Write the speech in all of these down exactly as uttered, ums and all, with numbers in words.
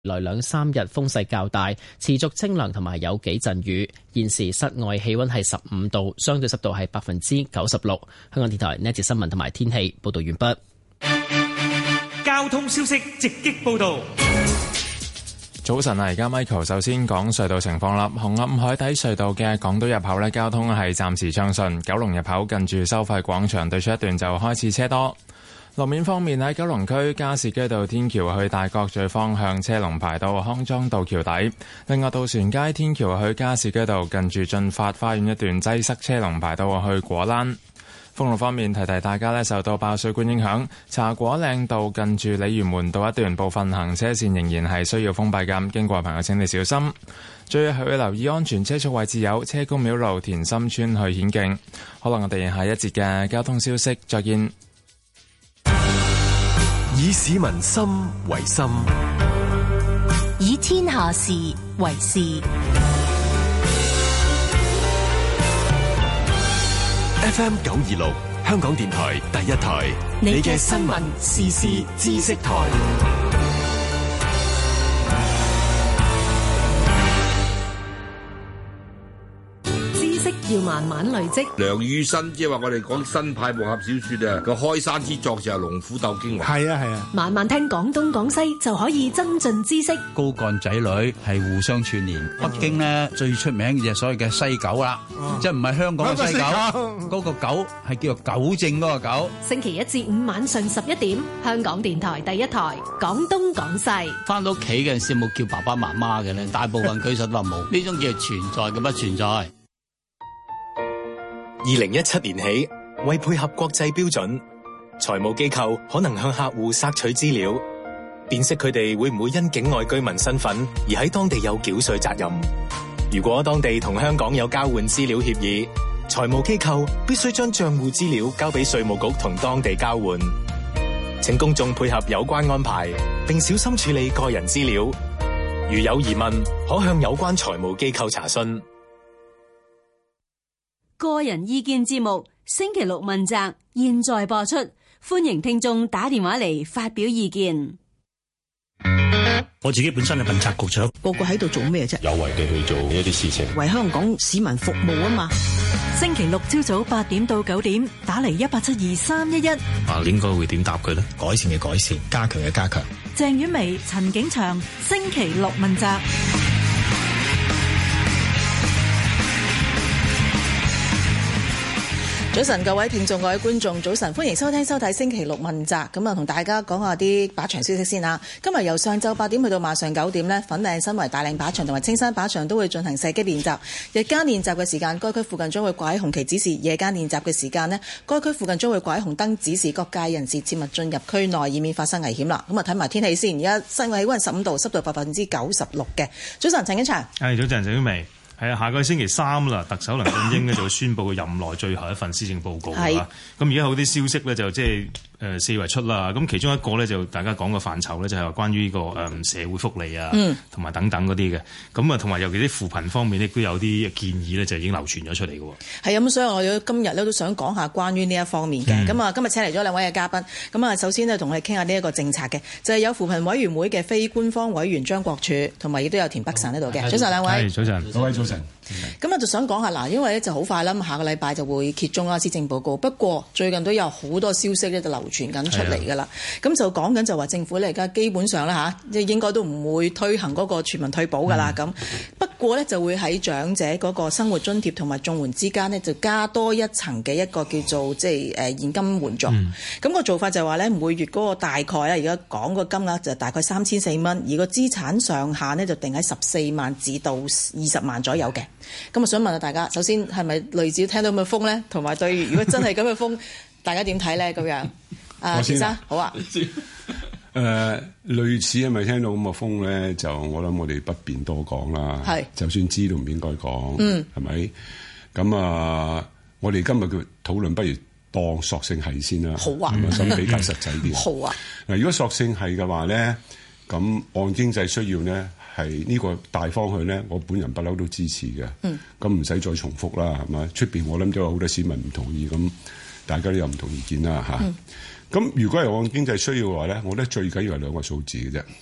來兩三日風勢較大，持續清涼同埋有幾陣雨。現時室外氣溫係十五度，相對濕度係百分之九十六。香港電台呢一節新聞同埋天氣報道完畢。 交通消息直擊報道。 早晨啊，而家 Michael 首先講隧道情況啦。紅磡海底隧道嘅港島入口呢，交通係暫時暢順。九龍入口近住收費廣場對出一段就開始車多。路面方面，喺九龍區加士居道天橋去大角咀方向車龍排到康莊道橋底。另外，渡船街天橋去加士居道近住駿發花園一段擠塞車龍排到去果欄。封路方面，提提大家咧，受到爆水管影響，茶果嶺道近住鯉魚門道一段部分行車線仍然係需要封閉㗎，經過嘅朋友請你小心。最後要留意安全車速位置有車公廟路田心村去顯徑。好啦，我哋下一節嘅交通消息再見。 以市民心為心， 以天下事為事。 F M 九二六，香港電台第一台，你嘅新聞時事知識台。 要慢慢累積。 梁羽生即係話我哋講新派武俠小說啊，個開山之作就係龍虎鬥京華。係啊係啊， 慢慢聽廣東廣西就可以增進知識。 高幹仔女係互相串聯。北京呢最出名嘅就係所謂嘅西九啦，嗯、即係唔係香港嘅西九，嗰個九係叫做糾正嗰個九。 星期一至五晚上十一點，香港電台第一台廣東廣西。 翻到屋企嘅時冇叫爸爸媽媽嘅咧，大部分舉手都話冇，呢種叫存在嘅不存在。 二零一七年起，為配合國際標準，財務機構可能向客戶索取資料，辨識佢哋會唔會因境外居民身份而喺當地有繳稅責任。如果當地同香港有交換資料協議，財務機構必須將賬戶資料交俾稅務局同當地交換。請公眾配合有關安排，並小心處理個人資料。如有疑問，可向有關財務機構查詢。 個人意見節目星期六問責，現在播出，歡迎聽眾打電話嚟發表意見。 我自己本身係問責局長， 個個喺度做咩啫？ 有為地去做一啲事情， 為香港市民服務啊嘛。 星期六朝早八點到九點，打嚟一八七二三一一。 啊，應該會點答佢呢？改善嘅改善，加強嘅加強。 鄭婉薇、陳景祥，星期六問責。 早晨，各位聽眾、各位觀眾，早晨，歡迎收聽收睇星期六問責。咁啊，同大家講下啲靶場消息先啦。今日由上晝八點去到晚上九點呢，粉嶺新圍大嶺靶場同埋青山靶場都會進行射擊練習。日間練習嘅時間，該區附近將會掛喺紅旗指示；夜間練習嘅時間呢，該區附近將會掛喺紅燈指示，各界人士切勿進入區內，以免發生危險啦。咁啊，睇埋天氣先。而家室外氣溫十五度，濕度百分之九十六嘅。早晨，陳景祥。 係，早晨，鄭婉薇。係啊，下個星期三啦，特首梁振英呢就會宣布佢任內最後一份施政報告啦。咁而家好啲消息咧就即係誒四圍出啦。咁其中一個咧就大家講嘅範疇咧就係話關於呢個誒社會福利啊，同埋、嗯、等等嗰啲嘅。咁啊同埋尤其啲扶貧方面亦都有啲建議咧就已經流傳咗出嚟嘅。係啊，咁所以我今日咧都想講下關於呢一方面嘅。咁啊、嗯、今日請嚟咗兩位嘅嘉賓。咁啊首先呢，同我哋傾下呢一個政策嘅，就係、是、有扶貧委員會嘅非官方委員張國柱，同埋亦都有田北辰喺度嘅。早晨兩位。 早晨，各位早晨。 咁啊，就想講下嗱，因為咧就好快啦，下個禮拜就會揭盅啦施政報告。不過最近都有好多消息咧，就流傳緊出嚟㗎啦。咁的就講緊就話政府咧而家基本上咧嚇，即係應該都唔會推行嗰個全民退保㗎啦。咁、嗯、不過咧就會喺長者嗰個生活津貼同埋綜援之間呢，就加多一層嘅一個叫做即係誒現金援助。咁、嗯、個做法就係話咧，每月嗰個大概啊，而家講個金額就大概三千四蚊，而個資產上限呢，就定喺十四萬至到二十萬左右嘅。咁我想問下大家，首先係咪類似聽到咁嘅風咧？同埋對，如果真係咁嘅風，大家點睇咧？咁樣，啊，先生好啊。 誒、呃，類似係咪聽到咁嘅風咧？就我諗我哋不便多講啦。係是，就算知道唔應該講，嗯，係咪？咁啊，我哋今日嘅討論不如當索性係先啦。好啊，咁比較實際啲。好啊。嗱，如果索性係嘅話咧，咁按經濟需要咧。係呢個大方向咧，我本人不嬲都支持嘅。嗯，咁唔使再重複啦，係嘛？出邊我諗都有好多市民唔同意，咁大家都有唔同意見啦嚇。咁、嗯、如果係按經濟需要嘅話咧，我覺得最緊要係兩個數字嘅啫。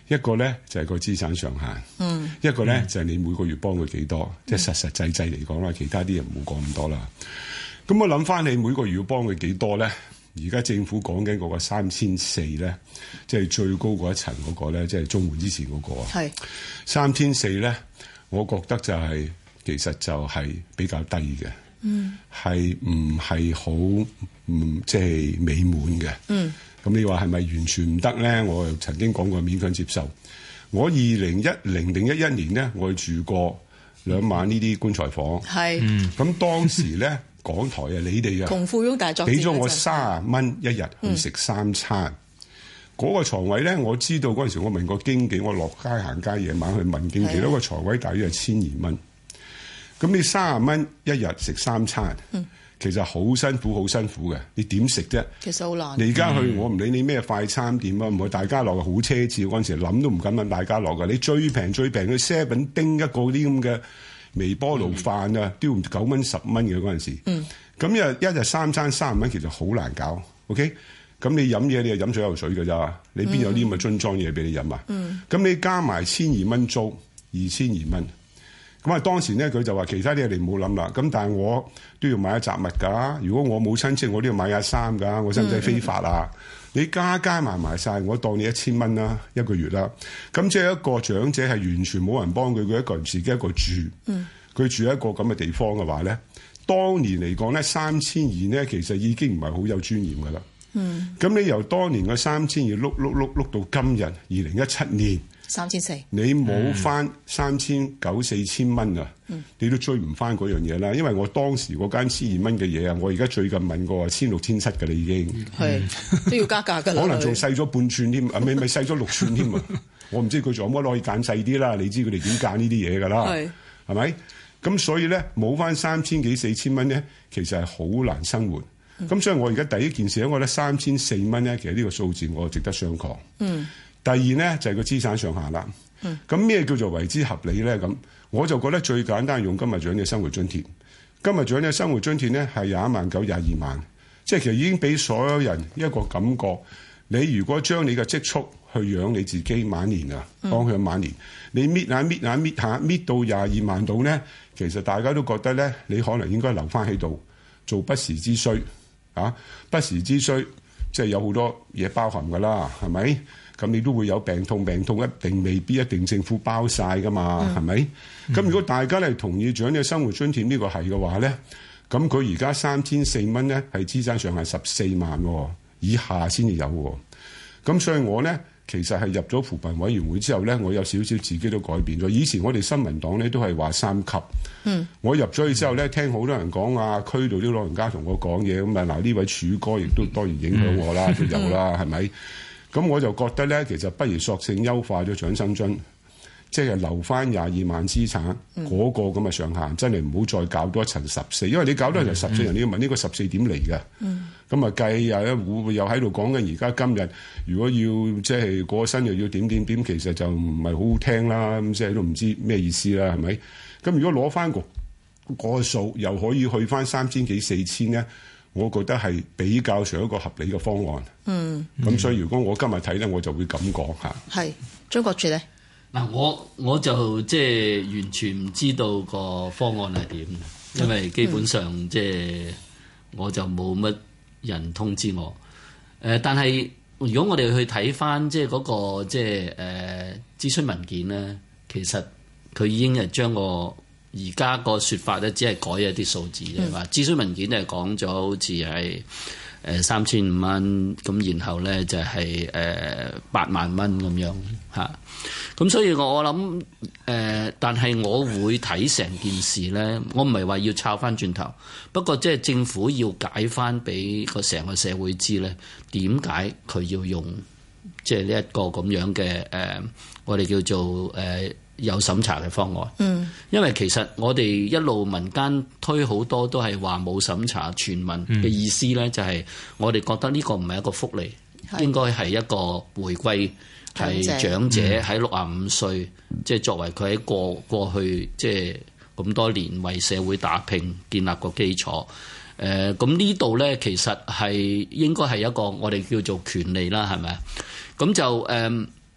一個咧就係個資產上限，嗯、一個咧就係你每個月幫佢幾多，嗯、即係實實際際嚟講啦。其他啲人唔好講咁多啦。咁我諗翻你每個月要幫佢幾多咧？而家政府講緊嗰個三千四咧，即係最高嗰一層嗰個咧，即係綜援之前嗰個啊。係三千四咧，我覺得就係、是、其實就係比較低嘅，嗯，係唔係好唔即係美滿嘅，嗯。咁你話係咪完全唔得咧？我又曾經講過勉強接受。我二零一零定一一年咧，我住過兩晚呢啲棺材房，係，咁、嗯、當時咧。港台啊，你哋啊， 窮富翁大作戰， 俾咗我三十蚊一日去食三餐。嗰、嗯、個床位咧，我知道嗰陣時，我問個經紀，我落街行街夜晚去問經紀，嗰個床位大約係千二蚊。咁你三十蚊一日食三餐，嗯、其實好辛苦，好辛苦嘅。你點食啫？其實好難。你而家去，嗯、我唔理你咩快餐店啊，唔係大家樂好奢侈。嗰陣時諗都唔敢問大家樂㗎。你最平最平去 seven 叮一個啲咁嘅。微波爐飯啊，都要九蚊十蚊嘅嗰陣時，咁、嗯、一一日三餐三十蚊，其實好難搞。OK，咁你飲嘢你係飲水有水㗎咋？你邊有啲咁嘅樽裝嘢俾你飲啊？咁、嗯、你加埋千二蚊租，二千二蚊。咁啊當時咧佢就話其他啲嘢你唔好諗啦。咁但係我都要買一雜物㗎。如果我冇親戚，我都要買下衫㗎。我使唔使飛髮啊？嗯、你加加埋埋晒，我當你一千蚊啦，一個月啦。咁即係一個長者係完全冇人幫佢，佢一個人自己一個住。嗯，佢住喺一個咁嘅地方嘅話咧，當年嚟講咧三千二咧，其實已經唔係好有尊嚴㗎啦。嗯，咁你由當年嘅三千二碌碌碌碌到今日二零一七年。三千四，你冇翻三千九四千蚊啊！嗯、你都追唔翻嗰樣嘢啦，因為我當時嗰間千二蚊嘅嘢啊，我而家最近問過千六千七㗎啦，已經係都要加價㗎啦，可能仲細咗半寸添，啊咪咪細咗六寸添啊！我唔知佢仲有乜可以揀細啲啦，你知佢哋點揀呢啲嘢㗎啦，係係咪？咁所以咧冇翻三千幾四千蚊咧，其實係好難生活。咁、嗯、所以我而家第一件事咧，我覺得三千四蚊咧，其實呢個數字我值得商榷。嗯。第二咧就係、是、個資產上限啦。咁咩、嗯、叫做為之合理咧？咁我就覺得最簡單用今日長者生活津貼。今日長者生活津貼咧係廿一萬九廿二萬，即係其實已經俾所有人一個感覺。你如果將你嘅積蓄去養你自己晚年啊，幫佢晚年，你搣下搣下搣下搣到廿二萬度咧，其實大家都覺得咧，你可能應該留翻喺度做不時之需啊！不時之需即係有好多嘢包含㗎啦，係咪？咁你都會有病痛，病痛一定未必一定政府包晒㗎嘛，係咪？咁、嗯、如果大家係同意長者生活津貼呢個係嘅話咧，咁佢而家三千四蚊咧係資產上限十四萬以下先至有喎。咁所以我咧其實係入咗扶貧委員會之後咧，我有少少自己都改變咗。以前我哋新民黨咧都係話三級，嗯，我入咗去之後咧，聽好多人講啊，區度啲老人家同我講嘢咁啊，嗱呢位柱哥亦都當然影響我啦，都、嗯、有啦，係咪、嗯？咁我就覺得咧，其實不如索性優化咗長生津，即係留翻廿二萬資產嗰、嗯、個咁嘅上限，真係唔好再搞多一層十四，因為你搞多一層十四，人你要問呢個十四點嚟嘅。咁啊計又咧會又喺度講緊，而家今日如果要即係過身又要點點點，其實就唔係好好聽啦。咁即係都唔知咩意思啦，係咪？咁如果攞翻個個數，又可以去翻三千幾四千咧？我覺得係比較上一個合理嘅方案。嗯，咁所以如果我今日睇咧，我就會咁講嚇。係張國柱咧， 嗱我我就即係完全唔知道個方案係點，因為基本上即係我就冇乜人通知我。誒，但係如果我哋去睇翻即係嗰個即係誒諮詢文件咧，其實佢已經係將個而家個説法咧，只係改一啲數字啫。話、嗯、諮詢文件就係講咗，好似係誒三千五蚊，咁然後咧就係誒八萬蚊咁樣嚇。咁所以我我諗誒，但係我會睇成件事咧，我唔係話要抄翻轉頭，不過即係政府要解翻俾個成個社會知咧，點解佢要用即係呢一個咁樣嘅誒、呃，我哋叫做誒。呃有審查嘅方案，嗯，因為其實我哋一路民間推好多都係話冇審查全民嘅意思咧，嗯、就係我哋覺得呢個唔係一個福利，是應該係一個回歸，係長者喺六十五歲，即係、嗯、作為佢喺過過去即係咁多年為社會打拼建立個基礎。誒、呃，咁呢度咧其實係應該係一個我哋叫做權利啦，係咪啊？咁就誒。呃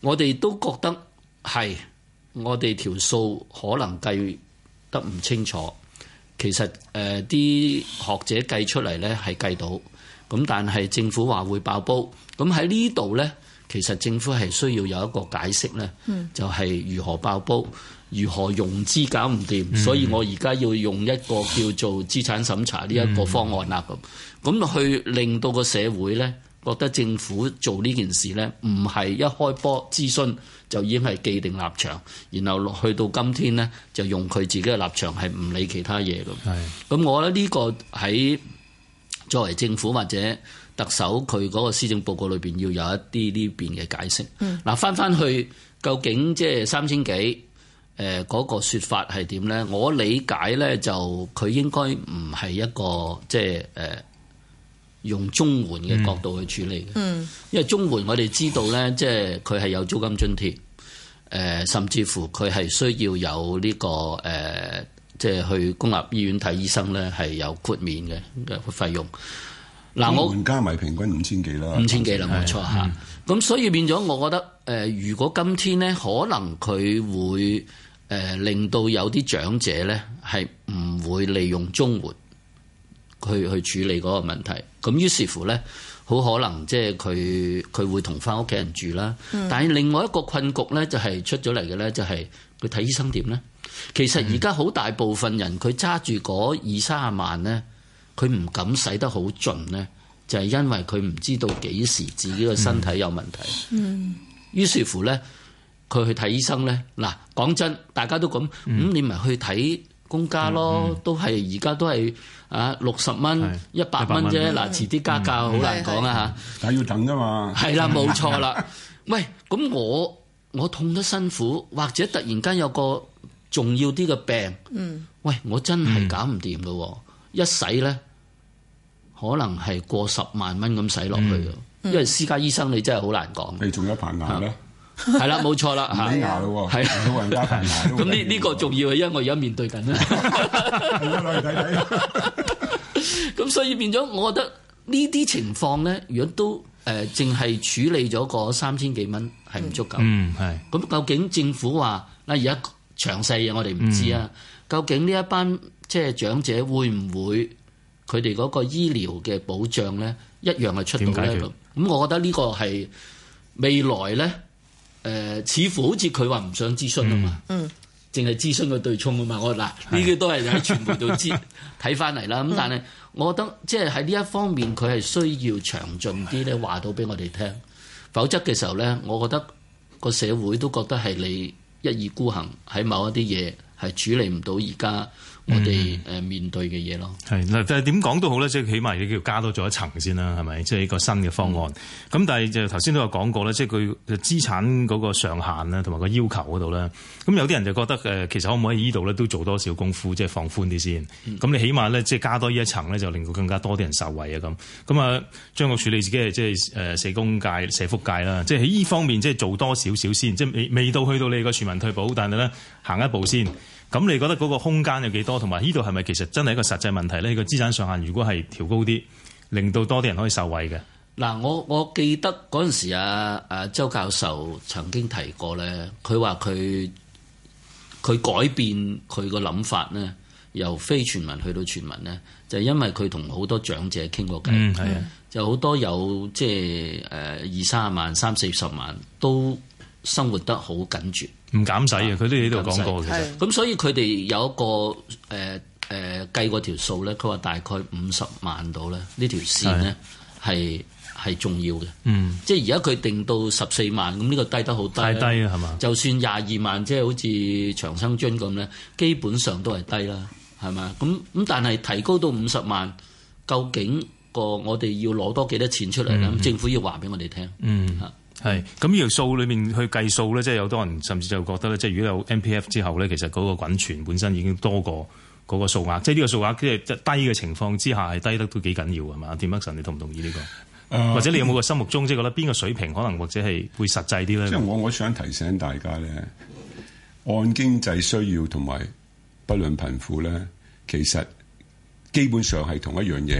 我哋都覺得係我哋條數可能計得唔清楚。其實誒啲、呃、學者計出嚟咧係計到，咁但係政府話會爆煲。咁喺呢度咧，其實政府係需要有一個解釋咧，嗯、就係如何爆煲，如何融資搞唔掂，嗯、所以我而家要用一個叫做資產審查呢一個方案啦。咁咁、嗯、去令到個社會咧覺得政府做呢件事咧唔係一開波諮詢就已經係既定立場，然後落去到今天咧就用佢自己嘅立場係唔理其他嘢咁。咁我覺得呢個喺作為政府或者特首佢嗰個施政報告裏邊要有一啲呢邊嘅解釋。嗱、嗯，翻翻去究竟即係三千幾誒嗰個説法係點咧？我理解咧就佢應該唔係一個即係誒。呃用綜援嘅角度去處理嘅，嗯、因為綜援我哋知道咧，即係佢係有租金津貼，誒、呃、甚至乎佢係需要有呢、這個誒，即、呃、係、就是、去公立醫院睇醫生咧係有豁免嘅嘅費用。嗱，我加埋平均五千幾啦， 五千幾啦，冇錯嚇。咁、嗯、所以變咗，我覺得誒、呃，如果今天咧，可能佢會誒、呃、令到有啲長者咧係唔會利用綜援。去去處理嗰個問題，咁於是乎咧，好可能即係佢佢會同翻屋企人住啦。嗯、但係另外一個困局咧，就係出咗嚟嘅咧，就係佢睇醫生點咧？其實而家好大部分人佢揸住嗰二三十萬咧，佢唔敢使得好盡咧，就係因為佢唔知道幾時自己個身體有問題。嗯，於是乎咧，佢去睇醫生咧，嗱講真，大家都咁，咁、嗯、你咪去睇公家咯，嗯嗯、都係而家都係。啊，六十蚊、一百蚊啫，嗱，遲啲加價好難講啊嚇！ 但係要等㗎嘛。係啦，冇錯啦。喂，咁我我痛得辛苦，或者突然間有個重要啲嘅病，嗯，喂，我真係搞唔掂㗎喎，嗯、一使咧可能係過十萬蚊咁使落去嘅，嗯、因為私家醫生你真係好難講。 你仲有排牙咧？ 係啦，冇錯啦， 睇牙咯喎，係老人家排牙。 咁呢呢個重要係因為我而家面對緊啦。 攞嚟睇睇。 咁所以變咗，我覺得呢啲情況咧，如果都誒淨係處理咗個三千幾蚊係唔足夠。 嗯，係。 咁究竟政府話嗱，而家詳細嘢我哋唔知啊。嗯、究竟呢一班即係長者會唔會佢哋嗰個醫療嘅保障咧一樣係出到咧咁？咁我覺得呢個係未來咧。誒、呃，似乎好似佢話唔想諮詢啊嘛，嗯，淨係諮詢個對沖啊嘛，我嗱呢啲都係喺傳媒度知睇翻嚟啦。咁但係我覺得即係喺呢一方面，佢係需要詳盡啲咧話到俾我哋聽，否則嘅時候咧，我覺得個社會都覺得係你一意孤行喺某一啲嘢係處理唔到而家我哋誒面對嘅嘢咯。 係嗱，但係點講都好咧，即係起碼你叫加多咗一層先啦，係咪？即係一個新嘅方案。咁、嗯、但係就頭先都有講過咧，即係佢資產嗰個上限啦，同埋個要求嗰度咧。咁有啲人就覺得誒，其實可唔可以呢度咧都做多少功夫，即係放寬啲先。咁、嗯、你起碼咧，即係加多呢一層咧，就令到更加多啲人受惠啊咁。咁啊，張國柱你自己係即係誒社工界、社福界啦，即係喺呢方面即係做多少少先，即係未未到去到你個全民退保，但係咧行一步先。咁你覺得嗰個空間有幾多？同埋呢度係咪其實真係一個實際問題咧？呢個資產上限如果係調高啲，令到多啲人可以受惠嘅。 嗱，我我記得嗰陣時啊啊周教授曾經提過咧，佢話佢佢改變佢個諗法咧，由非全民去到全民咧，就係、是、因為佢同好多長者傾過偈，嗯，係啊，就好多有即係誒二三十萬、三四十萬都生活得好緊絕。 唔減使嘅，佢都喺度講過嘅。 咁所以佢哋有一個誒誒、呃呃、計過條數咧，佢話大概五十萬度咧，呢條線咧係係重要嘅。嗯，即係而家佢定到十四萬，咁呢個低得好低。太低啊，係嘛？就算廿二萬，即係好似長生津咁咧，基本上都係低啦，係嘛？咁咁但係提高到五十萬，究竟個我哋要攞多幾多錢出嚟咧？嗯、政府要話俾我哋聽。嗯。 係咁呢條數裏面去計數咧，即係有多人甚至就覺得咧，即係如果有 M P F 之後咧，其實嗰個滾存本身已經多過嗰個數額，即係呢個數額即係低嘅情況之下係低得都幾緊要係嘛？田北辰，你同唔同意呢、呢個？呃、或者你有冇個心目中即係覺得邊個水平可能或者係會實際啲咧？ 即係我我想提醒大家咧，按經濟需要同埋不論貧富咧，其實基本上係同一樣嘢，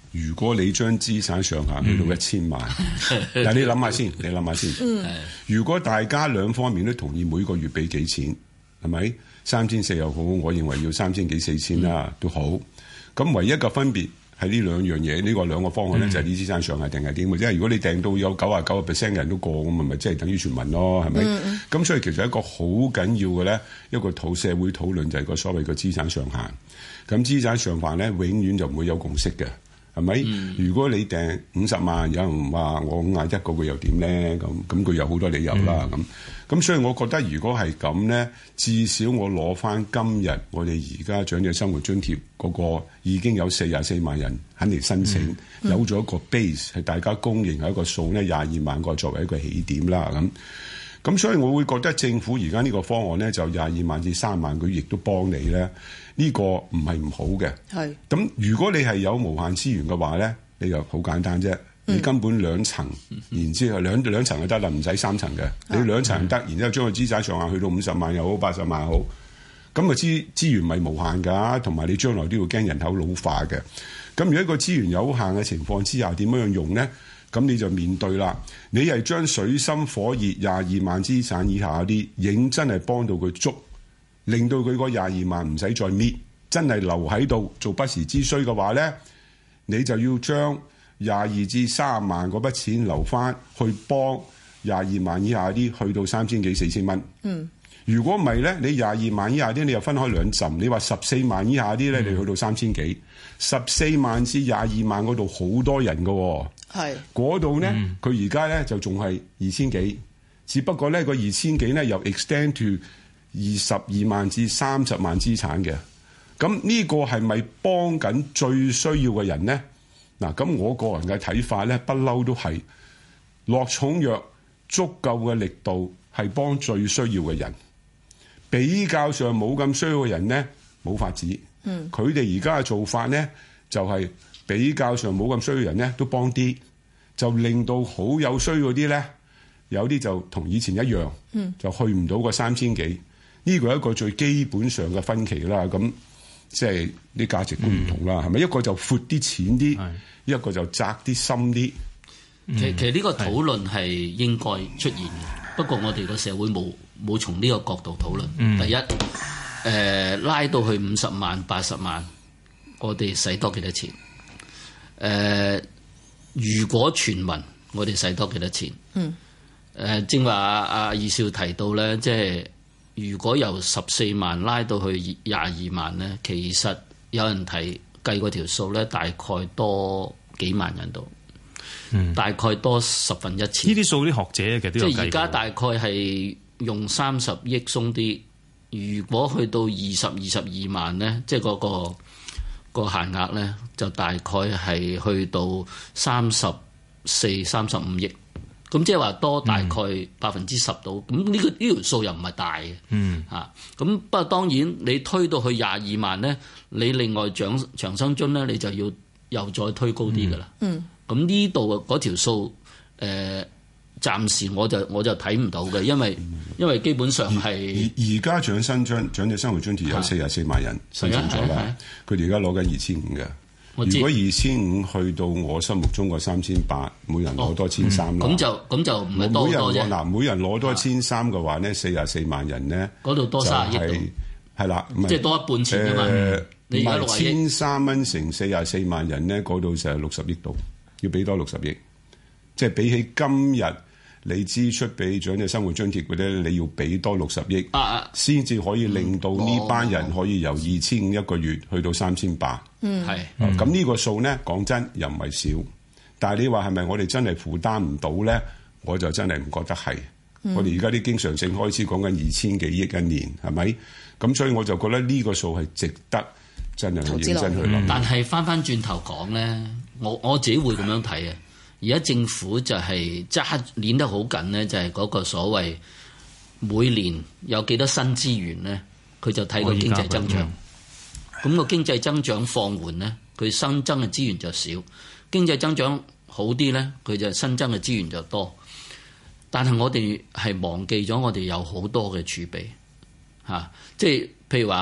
如果你將資產上限去到一千萬，嗱你諗下先，你諗下先。嗯、如果大家兩方面都同意每個月俾幾錢，係咪三千四又好？我認為要三千幾四千啦，嗯、都好。咁唯一嘅分別係呢兩樣嘢，呢、呢個兩個方案咧、嗯、就係啲資產上限定係點嘅啫。如果你訂到有九十九個 percent 嘅人都過，咁咪咪即係等於全民咯，係咪？咁、嗯、所以其實一個好緊要嘅咧，一個討社會討論就係個所謂嘅資產上限。咁資產上限咧，永遠就唔會有共識嘅。係咪？嗯、如果你訂五十萬，有人話我五廿一個月又點咧？咁咁佢有好多理由啦。咁咁、嗯、所以我覺得如果係咁咧，至少我攞翻今日我哋而家長者生活津貼嗰個已經有四十四萬人肯嚟申請，嗯、有咗一個 base 係大家公認係一個數咧，廿二萬個作為一個起點啦。咁咁所以我會覺得政府而家呢個方案咧，就廿二萬至三萬，佢亦都幫你咧。呢個唔係唔好嘅，係咁是。如果你係有無限資源嘅話咧，你就好簡單啫。嗯、你根本兩層，然之後兩兩層就得啦，唔使三層嘅。嗯、你兩層得，然之後將個資產上限去到五十萬又好，八十萬又好，咁啊資資源咪無限㗎，同埋你將來都要驚人口老化嘅。咁如果個資源有限嘅情況之下，點樣用咧？咁你就面對啦。你係將水深火熱廿二萬資產以下嗰啲，認真係幫到佢足。令到佢嗰廿二萬唔使再搣，真係留喺度做不時之需嘅話咧，你就要將廿二至三萬嗰筆錢留翻去幫廿二萬以下啲去到三千幾四千蚊。嗯，如果唔係咧，你廿二萬以下啲你又分開兩浸，你話十四萬以下啲咧，你去到三千幾，十四萬至廿二萬嗰度好多人㗎喎。係嗰度咧，佢而家咧就仲係二千幾，只不過咧個二千幾咧又 extend to二十二萬至三十萬資產嘅，咁呢個係咪幫緊最需要嘅人咧？嗱，咁我個人嘅睇法咧，不嬲都係落重藥足夠嘅力度係幫最需要嘅人，比較上冇咁需要嘅人咧冇法子。嗯，佢哋而家嘅做法咧就係、是、比較上冇咁需要嘅人咧都幫啲，就令到好有需要嗰啲咧有啲就同以前一樣，嗯，就去唔到個三千幾。呢個係一個最基本上嘅分歧啦，咁即係啲價值觀唔同啦，係咪、嗯？一個就闊啲淺啲，是一個就窄啲深啲。 其其實呢個討論係應該出現嘅，是不過我哋個社會冇冇從呢個角度討論。嗯、第一，誒、呃、拉到去五十萬、八十萬，我哋使多幾多錢？誒、呃，如果全民，我哋使多幾多錢？嗯。誒、呃，正話阿阿二少提到咧，即係。如果由十四萬拉到去廿二萬咧，其實有人提計嗰條數咧，大概多幾萬人度，嗯、大概多十分一次。呢啲數啲學者其實都有計過。即係而家大概係用三十億鬆啲，如果去到二十二十二萬咧，即係嗰個個限額咧，就大概係去到三十四、三十五億。咁即係話多大概百分之十到，咁呢、嗯、個呢條數又唔係大嘅，嗯嚇。咁不過當然你推到去廿二萬咧，你另外長長生津咧，你就要又再推高啲㗎啦。嗯。咁呢度嗰條數，誒、呃、暫時我就我就睇唔到嘅，因為、嗯、因為基本上係而而家長生津長者生活津貼有四十四萬人申請咗啦，佢哋而家攞緊二千五嘅。如果二千五去到我心目中個三千八，每人攞多千三啦。咁就咁就唔係多多啫。嗱，每人攞多千三嘅話咧，四十四萬人咧， 嗰度多卅億度， 係啦， 即係多一半錢㗎嘛。 呃、 你而家六十億， 千三蚊乘四十四萬人咧，嗰度就係六十億度，要俾多六十億。即係比起今日你支出俾長者生活津貼嗰啲，你要俾多六十億，先至、啊、可以令到呢班人可以由二千五一個月去到三千八。嗯，係。咁呢個數咧，講真又唔係少，但係你話係咪我哋真係負擔唔到咧？我就真係唔覺得係。嗯、我哋而家啲經常性開支講緊二千幾億一年，係咪？咁所以我就覺得呢個數係值得真係認真去諗、嗯。 但係翻翻轉頭講咧，我我自己會咁樣睇啊。而家政府就係揸捏得好緊咧，就係、是、嗰個所謂每年有幾多新資源咧，佢就睇個經濟增長。咁個經濟增長放緩咧，佢新增嘅資源就少；經濟增長好啲咧，佢就新增嘅資源就多。但係我哋係忘記咗，我哋有好多嘅儲備嚇、啊，即係譬如話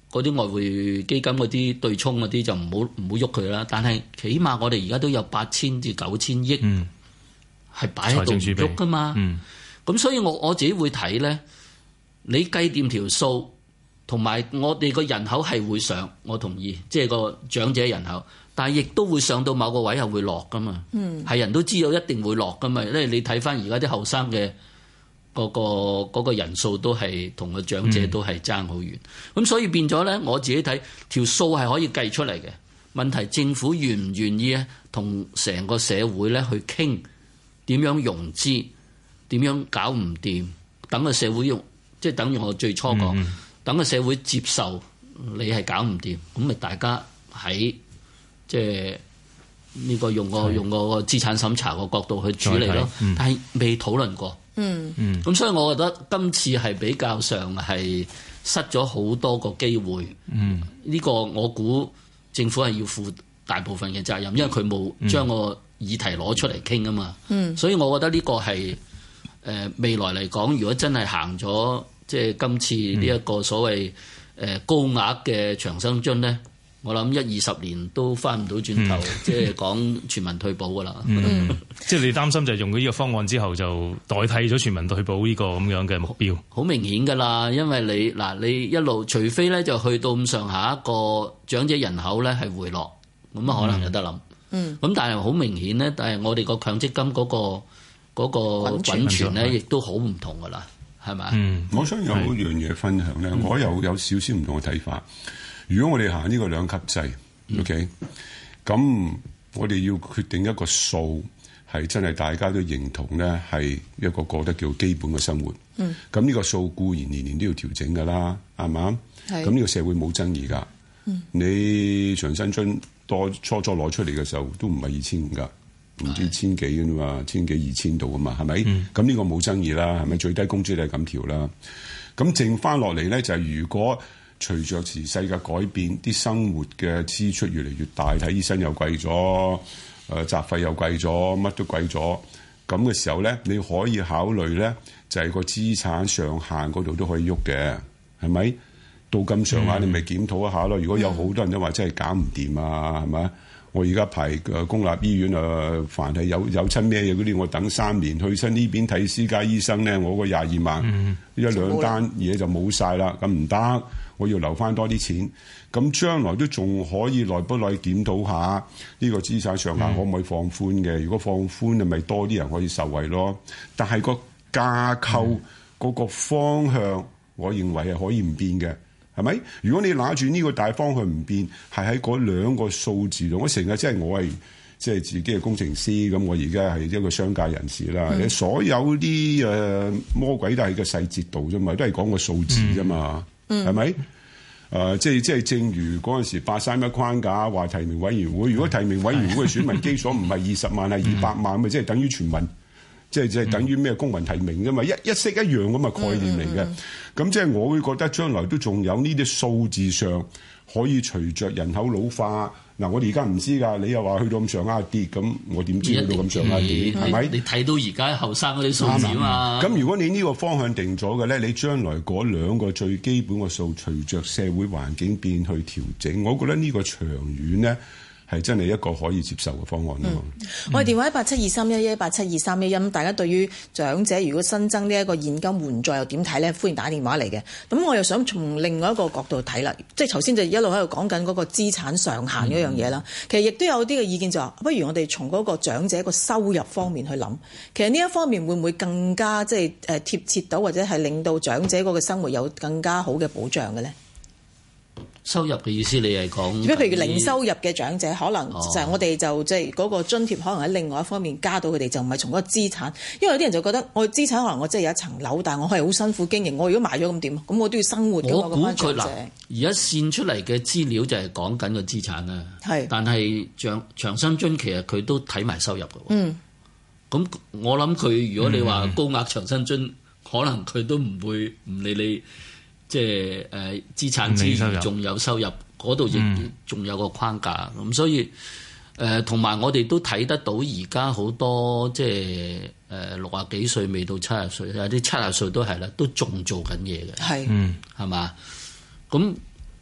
嗰啲外匯基金嗰啲對沖嗰啲就唔好唔好喐佢啦。但係起碼我哋而家都有八千至九千億係擺喺度唔喐噶嘛。咁、嗯、所以我我自己會睇咧，你計掂條數，同埋我哋個人口係會上，我同意，即係個長者人口，但係亦都會上到某個位係會落噶嘛。係、嗯、人都知道一定會落噶嘛，因為你睇翻而家啲後生嘅。嗰、那個嗰、那個人數都係同個長者都係爭好遠，咁、嗯、所以變咗咧，我自己睇條數係可以計出嚟嘅。問題政府願唔願意咧，同成個社會咧去傾點樣融資，點樣搞唔掂，等個社會用，即係等於我最初講，嗯、等個社會接受你係搞唔掂，咁咪大家喺即係呢個用個用個資產審查個角度去處理咯。嗯、但係未討論過。嗯嗯，咁所以我覺得今次係比較上係失咗好多個機會。嗯，呢個我估政府係要負大部分嘅責任，因為佢冇將個議題攞出嚟傾啊嘛。嗯，所以我覺得呢個係誒、呃、未來嚟講，如果真係行咗即係今次呢一個所謂誒高額嘅長生津咧。我諗一二十年都翻唔到轉頭，嗯、即係講全民退保噶啦。嗯嗯、 即係你擔心就係用咗呢個方案之後，就代替咗全民退保呢個咁樣嘅目標。 好明顯噶啦，因為你嗱你一路，除非咧就去到咁上下一個長者人口咧係回落，咁啊可能有得諗。嗯。咁但係好明顯咧，但係我哋個強積金嗰、嗰個嗰、嗰個滾存咧，亦都好唔同噶啦，係咪？嗯。 我想有一樣嘢分享咧，我有有少少唔同嘅睇法。如果我哋行呢個兩級制、嗯、，OK， 咁我哋要決定一個數係真係大家都認同咧，係一個過得叫基本嘅生活。嗯，咁呢個數固然年年都要調整㗎啦，係嘛？係。咁呢個社會冇爭議㗎。嗯。你長生津多初初攞出嚟嘅時候都唔係二千五㗎，唔知千幾㗎嘛，千幾二千度㗎嘛，係咪？嗯。咁呢個冇爭議啦，係咪？最低工資都係咁調啦。咁剩翻落嚟咧就係如果。隨着時勢嘅改變，啲生活嘅支出越嚟越大，睇醫生又貴咗，誒、呃、雜費又貴咗，乜都貴咗。咁嘅時候咧，你可以考慮咧，就係、是、個資產上限嗰度都可以喐嘅，係咪？到咁上下，你咪檢討一下咯。如果有好多人都話真係搞唔掂啊，係咪？我而家排誒公立醫院啊，凡係有有親咩嘢嗰啲，我等三年去親呢邊睇私家醫生咧，我個廿二萬、嗯、一兩單嘢就冇晒啦，咁唔得。我要留翻多啲錢，咁將來都仲可以耐不耐檢討下呢個資產上限可唔可以放寬嘅？嗯、如果放寬，咪多啲人可以受惠咯。但係個架構嗰個方向，嗯、我認為係可以唔變嘅，係咪？如果你拿住呢個大方向唔變，係喺嗰兩個數字度，我成日即係我係即係自己係工程師，咁我而家係一個商界人士啦。你、嗯、所有啲誒魔鬼都係個細節度啫嘛，都係講個數字啫嘛。係咪？誒、嗯呃，即係即係，正如嗰陣時八三一框架話提名委員會，如果提名委員會嘅選民基礎唔係二十萬，係二百萬，咪即係等於全民，即係即係等於咩公民提名啫嘛，一一式一樣咁嘅概念嚟嘅。咁、嗯嗯、即係我會覺得將來都仲有呢啲數字上可以隨着人口老化。嗱，我哋而家唔知㗎，你又話去到咁上下跌，咁我點知去到咁上下跌？係咪？你睇到而家後生嗰啲數字啊嘛。咁如果你呢個方向定咗嘅咧，你將來嗰兩個最基本嘅數，隨着社會環境變去調整，我覺得呢個長遠咧係真係一個可以接受嘅方案咯。嗯嗯、我哋電話一八七二三一一八七二三一一，咁大家對於長者如果新增呢一個現金援助又點睇咧？歡迎打電話嚟嘅。咁我又想從另外一個角度睇啦，即係頭先就一路喺度講緊嗰個資產上限嗰樣嘢啦。嗯、其實亦都有啲嘅意見就話，不如我哋從嗰個長者個收入方面去諗。其實呢一方面會唔會更加即係誒貼切到，或者係令到長者嗰個生活有更加好嘅保障嘅咧？ 收入嘅意思，你係講？如果譬如零收入嘅長者，可能就係我哋就即係嗰個津貼，可能喺另外一方面加到佢哋，就唔係從嗰個資產。因為有啲人就覺得，我資產可能我真係有一層樓，但係我係好辛苦經營。我如果賣咗咁點？咁我都要生活㗎嘛。我估佢嗱，而家線出嚟嘅資料就係講緊個資產啦。係，但係長長生津其實佢都睇埋收入㗎。嗯。咁我諗佢如果你話高額長生津，嗯、可能佢都唔會唔理你。即係誒資產之餘仲有收入，嗰度亦仲有個框架咁，嗯、所以誒同埋我哋都睇得到而家好多即係誒六啊幾歲未到七十歲，有啲七十歲都係啦，都仲做緊嘢嘅，係，嗯，係嘛？咁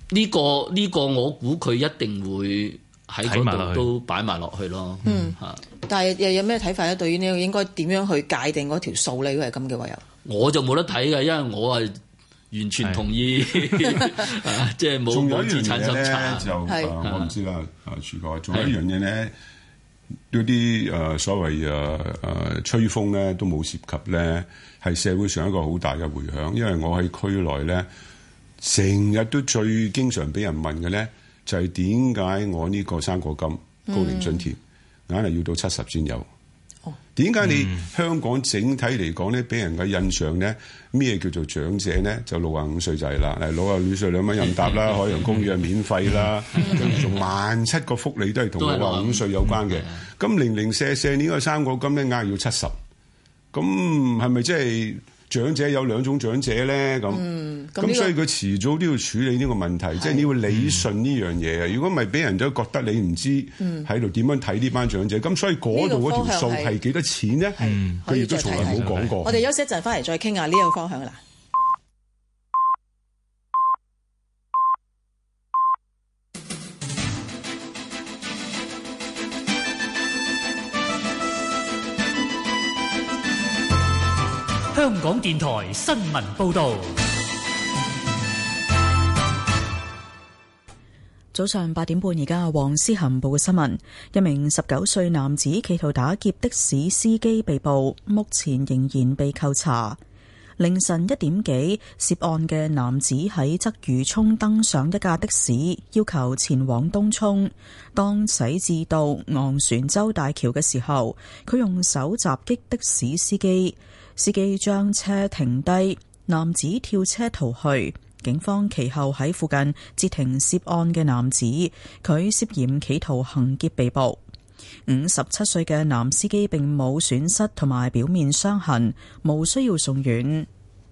呢個呢個我估佢一定會喺嗰度都擺埋落去咯。 嗯，嚇。但係又有咩睇法咧？對於呢個應該點樣去界定嗰條數咧？如果係咁嘅話，又我就冇得睇嘅，因為我係完全同意，即係冇冇資產審查。 就誒，我唔知啦。啊，柱哥，仲有一樣嘢咧，嗰啲誒所謂誒誒吹風咧，都冇涉及咧，係社會上一個好大嘅迴響。因為我喺區內咧，成日都最經常俾人問嘅咧，就係點解我呢個生果金高齡津貼硬係要到七十先有？點解你香港整體嚟講咧，俾人嘅印象咧，咩叫做長者咧？就六十五歲就係啦，誒六十五歲兩蚊任搭啦，海洋公園免費啦，跟住仲萬七個福利都係同六十五歲有關嘅。咁零零舍舍呢個生果金咧，硬係要七十，咁係咪即係長者有兩種長者咧？咁咁、嗯這個、所以佢遲早都要處理呢個問題，即係你要理順呢樣嘢啊！如果唔係，俾人都覺得你唔知喺度點樣睇呢班長者，咁、嗯、所以嗰度嗰條數係幾多錢咧？佢亦都從來冇講過。 我哋休息一陣，翻嚟再傾下呢個方向啦。 香港電台新聞報導。 早上八點半，而家黃思涵報嘅新聞：一名十九歲男子企圖打劫的士司機被捕，目前仍然被扣查。凌晨一點幾，涉案嘅男子喺鰂魚涌登上一架的士，要求前往東涌。當駛至到昂船洲大橋嘅時候，佢用手襲擊的士司機。司機將車停低，男子跳車逃去。警方其後喺附近截停涉案嘅男子，佢涉嫌企圖行劫被捕。五十七歲嘅男司機並冇損失同埋表面傷痕，無需要送院。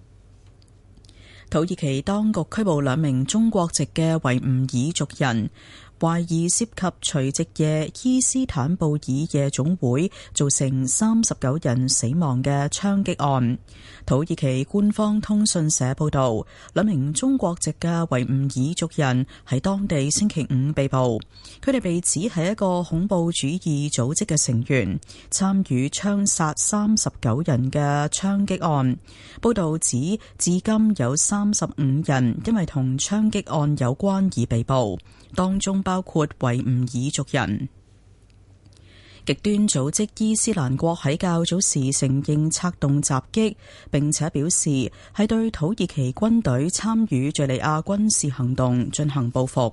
土耳其當局拘捕兩名中國籍嘅維吾爾族人，懷疑涉及除夕夜伊斯坦布爾夜總會造成三十九人死亡嘅槍擊案。土耳其官方通訊社報道，兩名中國籍嘅維吾爾族人喺當地星期五被捕，佢哋被指係一個恐怖主義組織嘅成員，參與槍殺三十九人嘅槍擊案。報道指，至今有三十五人因為同槍擊案有關而被捕，當中包括維吾爾族人。極端組織伊斯蘭國喺較早時承認策動襲擊，並且表示係對土耳其軍隊參與敘利亞軍事行動進行報復。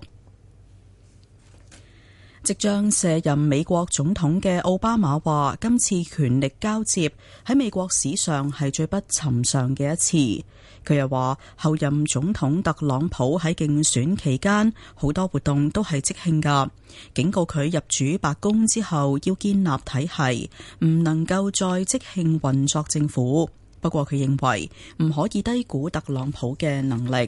即將卸任美國總統嘅奧巴馬話，今次權力交接喺美國史上係最不尋常嘅一次。佢又話，後任總統特朗普喺競選期間好多活動都係即興㗎，警告佢入主白宮之後要建立體系，唔能夠再即興運作政府。不過佢認為唔可以低估特朗普嘅能力。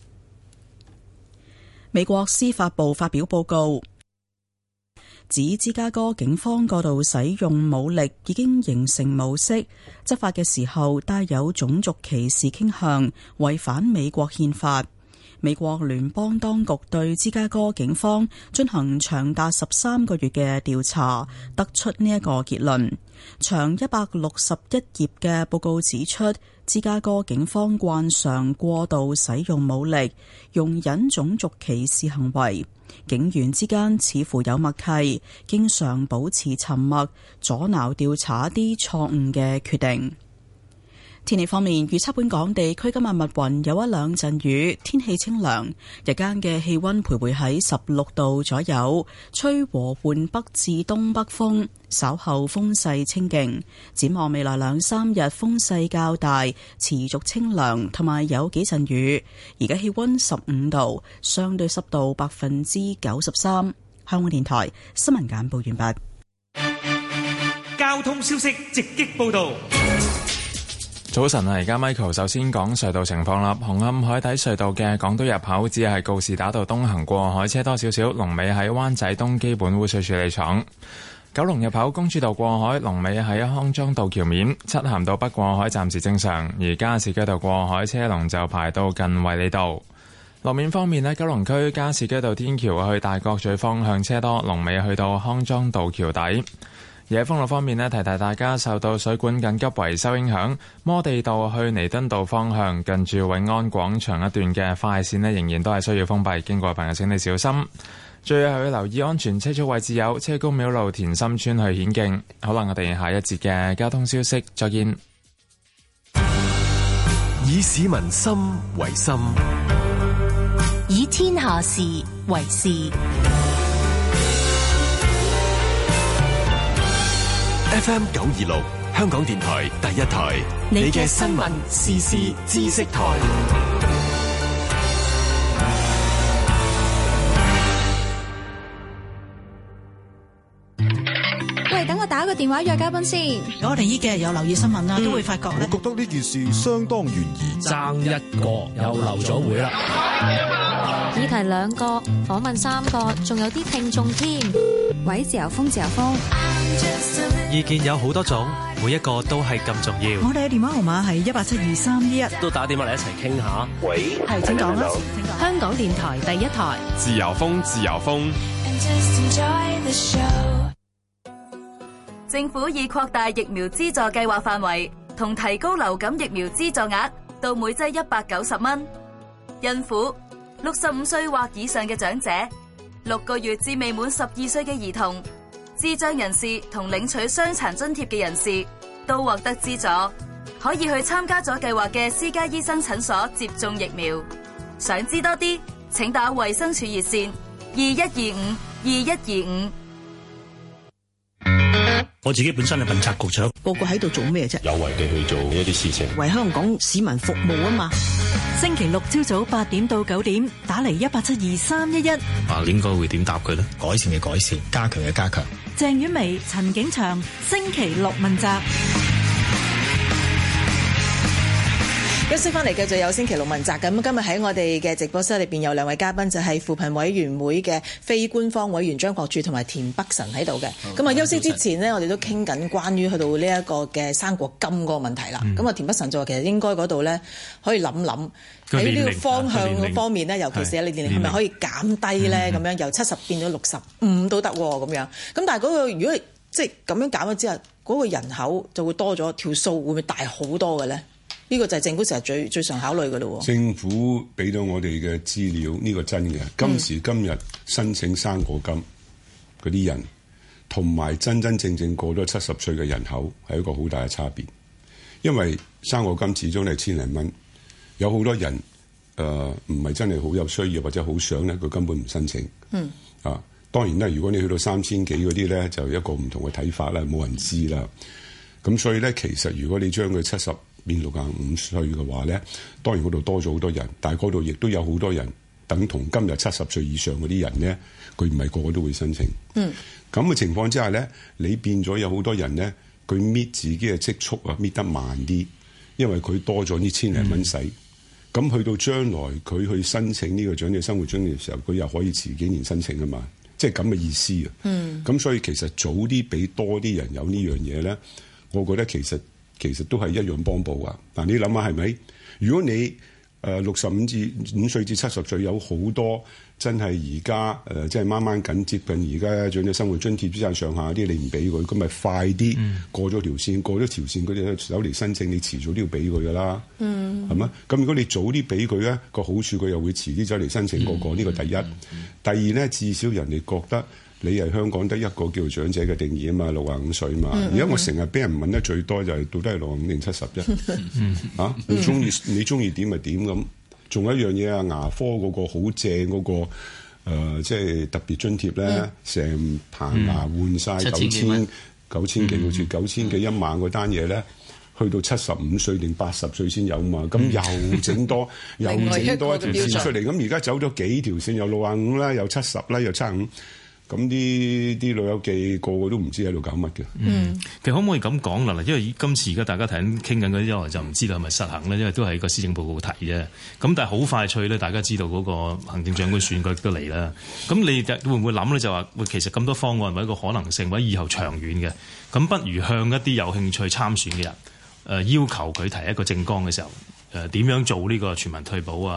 美國司法部發表報告，指芝加哥警方過度使用武力已經形成模式，執法嘅時候帶有種族歧視傾向，違反美國憲法。美國聯邦當局對芝加哥警方進行長達十三個月嘅調查，得出呢一個結論。長一百六十一頁嘅報告指出，芝加哥警方慣常過度使用武力，容忍種族歧視行為。警員之間似乎有默契，經常保持沉默，阻撓調查一啲錯誤嘅決定。天氣方面，預測本港地區今日密雲有一兩陣雨，天氣清涼，日間嘅氣溫徘徊喺十六度左右，吹和緩北至東北風，稍後風勢清勁。展望未來兩三日風勢較大，持續清涼，同埋有幾陣雨。而家氣溫十五度，相對濕度百分之九十三。香港電台新聞簡報完畢。 交通消息直擊報道。 早晨啊，而家 Michael 首先講隧道情況啦。紅磡海底隧道嘅港島入口只係告士打道東行過海車多少少，龍尾喺灣仔東基本污水處理廠。九龍入口公主道過海，龍尾喺康莊道橋面。漆咸道北過海暫時正常，而加士居道過海車龍就排到近衛理道。 路面方面呢，九龍區加士居道天橋去大角咀方向車多，龍尾去到康莊道橋底。而喺封路方面呢，提提大家受到水管緊急維修影響，摩地道去彌敦道方向近住永安廣場一段嘅快線呢，仍然都係需要封閉，經過嘅朋友請你小心。最後要留意安全車速位置有車公廟路田心村去顯徑。好啦，我哋下一節嘅交通消息再見。 以市民心為心， 以天下事為事。 F M 九二六，香港電台第一台，你嘅新聞時事知識台。 喂，等我打個電話約嘉賓先。 我哋呢幾日有留意新聞啦，嗯、都會發覺咧， 我覺得呢件事相當懸疑。 爭一個又留咗會啦。 議題兩個，訪問三個，仲有啲聽眾添。喂，自由風，自由風。 意見有好多種，每一個都係咁重要。 我哋嘅電話號碼係一八七二三一一， 都打電話嚟一齊傾下。 喂， 係請講啦。 香港電台第一台， 自由風，自由風。 政府已擴大疫苗資助計劃範圍，同提高流感疫苗資助額到每劑一百九十蚊。孕婦、六十五歲或以上嘅長者、六個月至未滿十二歲嘅兒童、智障人士同領取傷殘津貼嘅人士都獲得資助，可以去參加咗計劃嘅私家醫生診所接種疫苗。想知多啲，請打衛生署熱線二一二五二一二五。 我自己本身係問責局長， 個個喺度做咩啫？ 有為地去做一啲事情， 為香港市民服務啊嘛。 星期六朝早八點到九點，打嚟一八七二三一一。 啊，應該會點答佢呢？改善嘅改善，加強嘅加強。 鄭婉薇、陳景祥，星期六問責。 休息翻嚟，繼續有星期六問責。咁今日喺我哋嘅直播室裏邊有兩位嘉賓，就係扶貧委員會嘅非官方委員張國柱同埋田北辰喺度嘅。咁啊，休息之前呢，我哋都傾緊關於去到呢一個嘅生果金嗰個問題啦。咁啊、嗯，田北辰就話其實應該嗰度咧可以諗諗喺呢個方向方面咧，尤其是你年齡係咪可以減低咧？咁、嗯、樣由七十變咗六十五都得咁樣。咁但係嗰個如果即係咁樣減咗之後，嗰、嗰個人口就會多咗，條數會唔會大好多嘅咧？呢個就係政府成日最最常考慮嘅咯。 政府俾到我哋嘅資料，呢、呢個真嘅。今時今日申請生果金嗰啲人，同埋真真正正過咗七十歲嘅人口係一個好大嘅差別。因為生果金始終係千零蚊，有好多人誒唔係真係好有需要或者好想咧，佢根本唔申請。嗯。啊，當然啦，如果你去到三千幾嗰啲咧，就一個唔同嘅睇法啦，冇人知啦。咁所以咧，其實如果你將佢七十變六十五歲嘅話咧，當然嗰度多咗好多人，但係嗰度亦都有好多人等同今日七十歲以上嗰啲人咧，佢唔係個個都會申請。嗯，咁嘅情況之下咧，你變咗有好多人咧，佢搣自己嘅積蓄啊，搣得慢啲，因為佢多咗呢千零蚊使。咁、嗯、去到將來佢去申請呢個長者生活津貼嘅時候，佢又可以遲幾年申請啊嘛，即係咁嘅意思啊。嗯，咁所以其實早啲俾多啲人有呢樣嘢咧，我覺得其實。其實都係一樣幫補啊！嗱，你諗下係咪？如果你誒六十五至五歲至七十歲有好多真係而家誒即係掹掹緊接近而家長者生活津貼之上上下啲，你唔俾佢，咁咪快啲過咗條線，嗯、過咗條線佢哋走嚟申請，你遲早都要俾佢噶啦，係咪、嗯？咁如果你早啲俾佢咧，個好處佢又會遲啲走嚟申請嗰、那個，呢、嗯、個第一。嗯嗯、第二咧，至少人哋覺得。你係香港得一個叫做長者嘅定義啊嘛，六十五歲嘛。而家、嗯、我成日俾人問得最多就係到底係六十五定七十啫。啊，你中意你中意點咪點咁。仲有一樣嘢啊，牙科嗰個好正嗰個誒，即、呃、係、就是、特別津貼咧，成、嗯、棚牙換晒九千九千幾，好似九千幾一萬嗰單嘢咧，去到七十五歲定八十歲先有嘛。咁、嗯、又整多又整多一條線出嚟。咁而家走咗幾條線，又六十五啦，又七十啦，又七十五。咁啲啲老友記個個都唔知喺度搞乜嘅。 嗯，其實可唔可以咁講啦？嗱，因為今次而家大家睇緊傾緊嗰啲，我就唔知道係咪實行咧，因為都係個施政報告提啫。咁但係好快脆咧，大家知道嗰個行政長官選舉都嚟啦。咁你會唔會諗咧？就話喂，其實咁多方案或者一個可能性，或者以後長遠嘅，咁不如向一啲有興趣參選嘅人，誒、呃、要求佢提一個政綱嘅時候，誒、呃、點樣做呢個全民退保啊？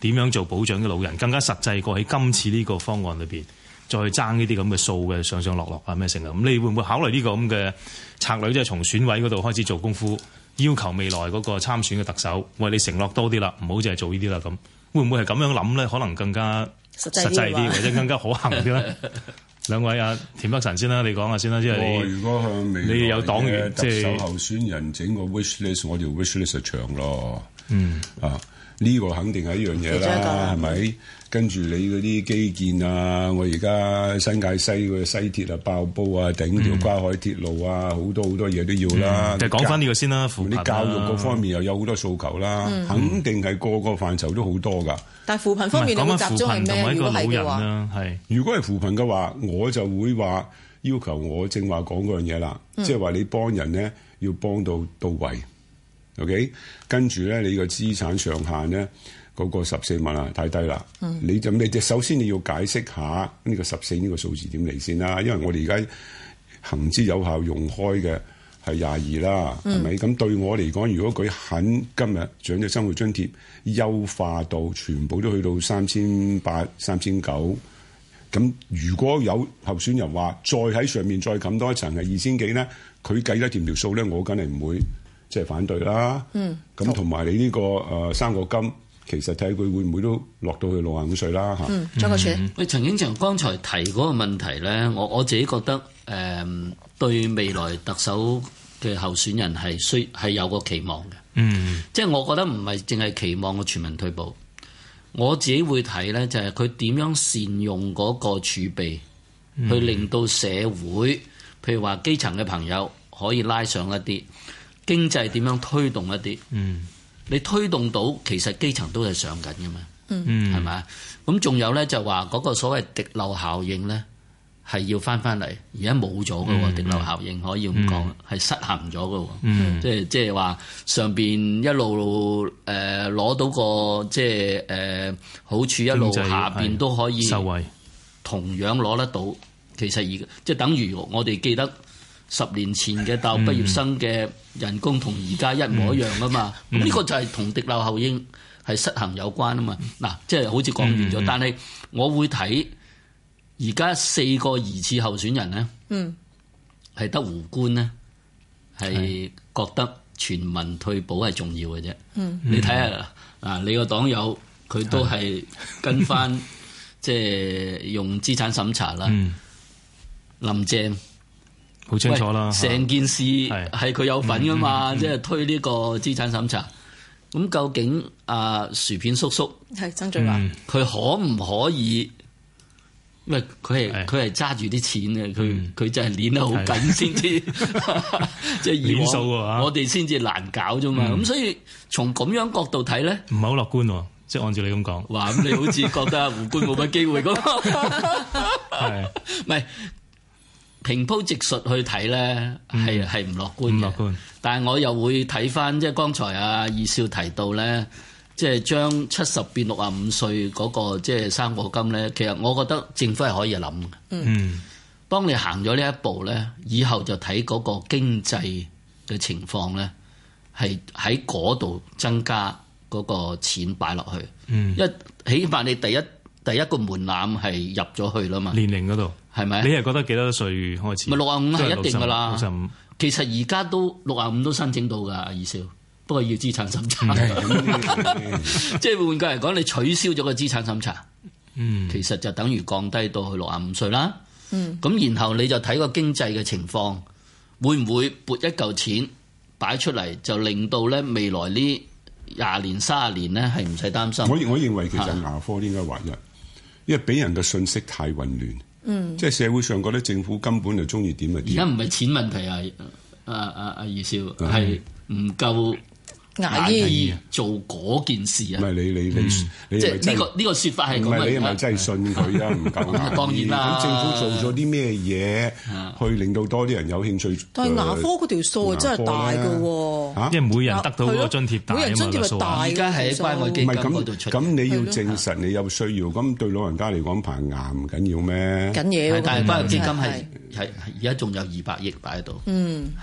點樣做保障嘅老人，更加實際過喺今次呢個方案裏邊，再去爭呢啲咁嘅數嘅上上落落啊咩成啊。咁你會唔會考慮呢個咁嘅策略，即係從選委嗰度開始做功夫，要求未來嗰個參選嘅特首，喂，你承諾多啲啦，唔好淨係做呢啲啦咁。會唔會係咁樣諗咧？可能更加實際啲，或者更加可行啲咧？兩位啊，田北辰先啦，你講下先啦，即係你如果向未來你有黨員特首候選人整個 wish list，我條 wish list 就長咯。 嗯啊，呢、這個肯定係一樣嘢啦，係咪？跟住你嗰啲基建啊，我而家新界西嘅西鐵啊爆煲啊，頂條跨海鐵路啊，好、嗯、多好多嘢都要啦。 就講翻呢個先啦，扶貧啲教育嗰方面又有好多訴求啦，嗯、肯定係個個範疇都好多㗎。 但係扶貧方面，你會集中係咩？如果係嘅話， 係如果係扶貧嘅話，我就會話要求我正話講嗰樣嘢啦，即係話你幫人咧要幫到到位。OK， 跟住咧你個資產上限咧。嗰個十四萬啊，太低啦！嗯、你就咩？首先你要解釋下呢個十四呢個數字點嚟先啦。因為我哋而家行之有效用開嘅係廿二啦，係咪、嗯？咁對我嚟講，如果佢肯今日長者生活津貼優化到全部都去到三千八、三千九，咁如果有候選人話再喺上面再冚多一層係二千幾咧，佢計得掂條數咧，我梗係唔會即係、就是、反對啦。嗯，咁同埋你呢、這個誒、呃、生果金。其實睇佢會唔會都落到去六十五歲啦嚇。 嗯，張國柱， 喂，陳景祥剛才提嗰個問題咧，我我自己覺得誒、呃、對未來特首嘅候選人係需係有個期望嘅。嗯，即係我覺得唔係淨係期望個全民退保，我自己會睇咧就係佢點樣善用嗰個儲備，嗯、去令到社會，譬如話基層嘅朋友可以拉上一啲經濟點樣推動一啲。嗯。你推動到，其實基層都係上緊嘅嘛，係咪啊？咁仲有咧就話嗰個所謂滴漏效應咧，係要翻翻嚟，而家冇咗嘅喎，滴漏效應可以咁講，係失衡咗嘅喎，即係即係話上邊一路誒攞、呃、到個即係誒好處，一路下邊都可以受惠，同樣攞得到。其實而即係等於我哋記得。十年前嘅大學畢業生嘅人工同而家一模一樣啊嘛，咁呢、嗯、個就係同滴漏效應係失衡有關啊嘛。嗱，即係好似講完咗，嗯、但係我會睇而家四個疑似候選人咧，係得、嗯、胡官咧係覺得全民退保係重要嘅啫。嗯、你睇下啊，你個黨友佢都係跟翻即係用資產審查啦，嗯、林鄭。 好清楚啦， 成件事係佢有份噶嘛，即係、嗯嗯、推呢個資產審查。咁、嗯、究竟啊薯片叔叔係曾俊華，佢、 嗯、可唔可以？因為佢係佢係揸住啲錢嘅，佢佢、嗯、就係捏得好緊先至，即係以往我哋先至難搞啫嘛。咁、嗯、所以從咁樣角度睇咧， 唔係好樂觀喎。即係按照你咁講， 哇！咁你好似覺得胡官冇乜機會咁，係唔係？平鋪直述去睇咧，係係唔樂觀嘅。樂觀，但係我又會睇翻，即係剛才阿二少提到咧，即係將七十變六十五歲嗰個即係生果金咧，其實我覺得政府係可以諗嘅。嗯，當你行咗呢一步咧，以後就睇嗰個經濟嘅情況咧，係喺嗰度增加嗰個錢擺落去。嗯，因為起碼你第一第一個門檻係入咗去啦嘛， 年齡嗰度。係咪？你係覺得幾多歲開始？ 咪六十五係一定㗎啦。六十五其實而家都六十五都申請到㗎，二少。不過要資產審查。即係換句嚟講，你取消咗個資產審查，嗯，其實就等於降低到去六十五歲啦。嗯，咁然後你就睇個經濟嘅情況，會唔會撥一嚿錢擺出嚟，就令到咧未來呢廿年、三十年咧係唔使擔心。 我我認為其實牙科應該劃一，因為俾人嘅信息太混亂。嗯，即係社會上覺得政府根本就中意點就點。 而家唔係錢問題啊！阿阿阿二少係唔夠牙醫做嗰件事啊！ 唔係你你你你即係呢個呢個説法係咁啊！ 唔係你係咪真係信佢啊？唔夠牙醫。 當然啦。 咁政府做咗啲咩嘢去令到多啲人有興趣？ 但係牙科嗰條數真係大㗎喎， 因為每人得到嗰個津貼大啊嘛， 每人津貼係大， 而家係喺關愛基金嗰度出。 咁你要證實你有需要，咁對老人家嚟講排牙唔緊要咩？ 緊要。 但係關愛基金係係而家仲有二百億擺喺度。嗯嚇。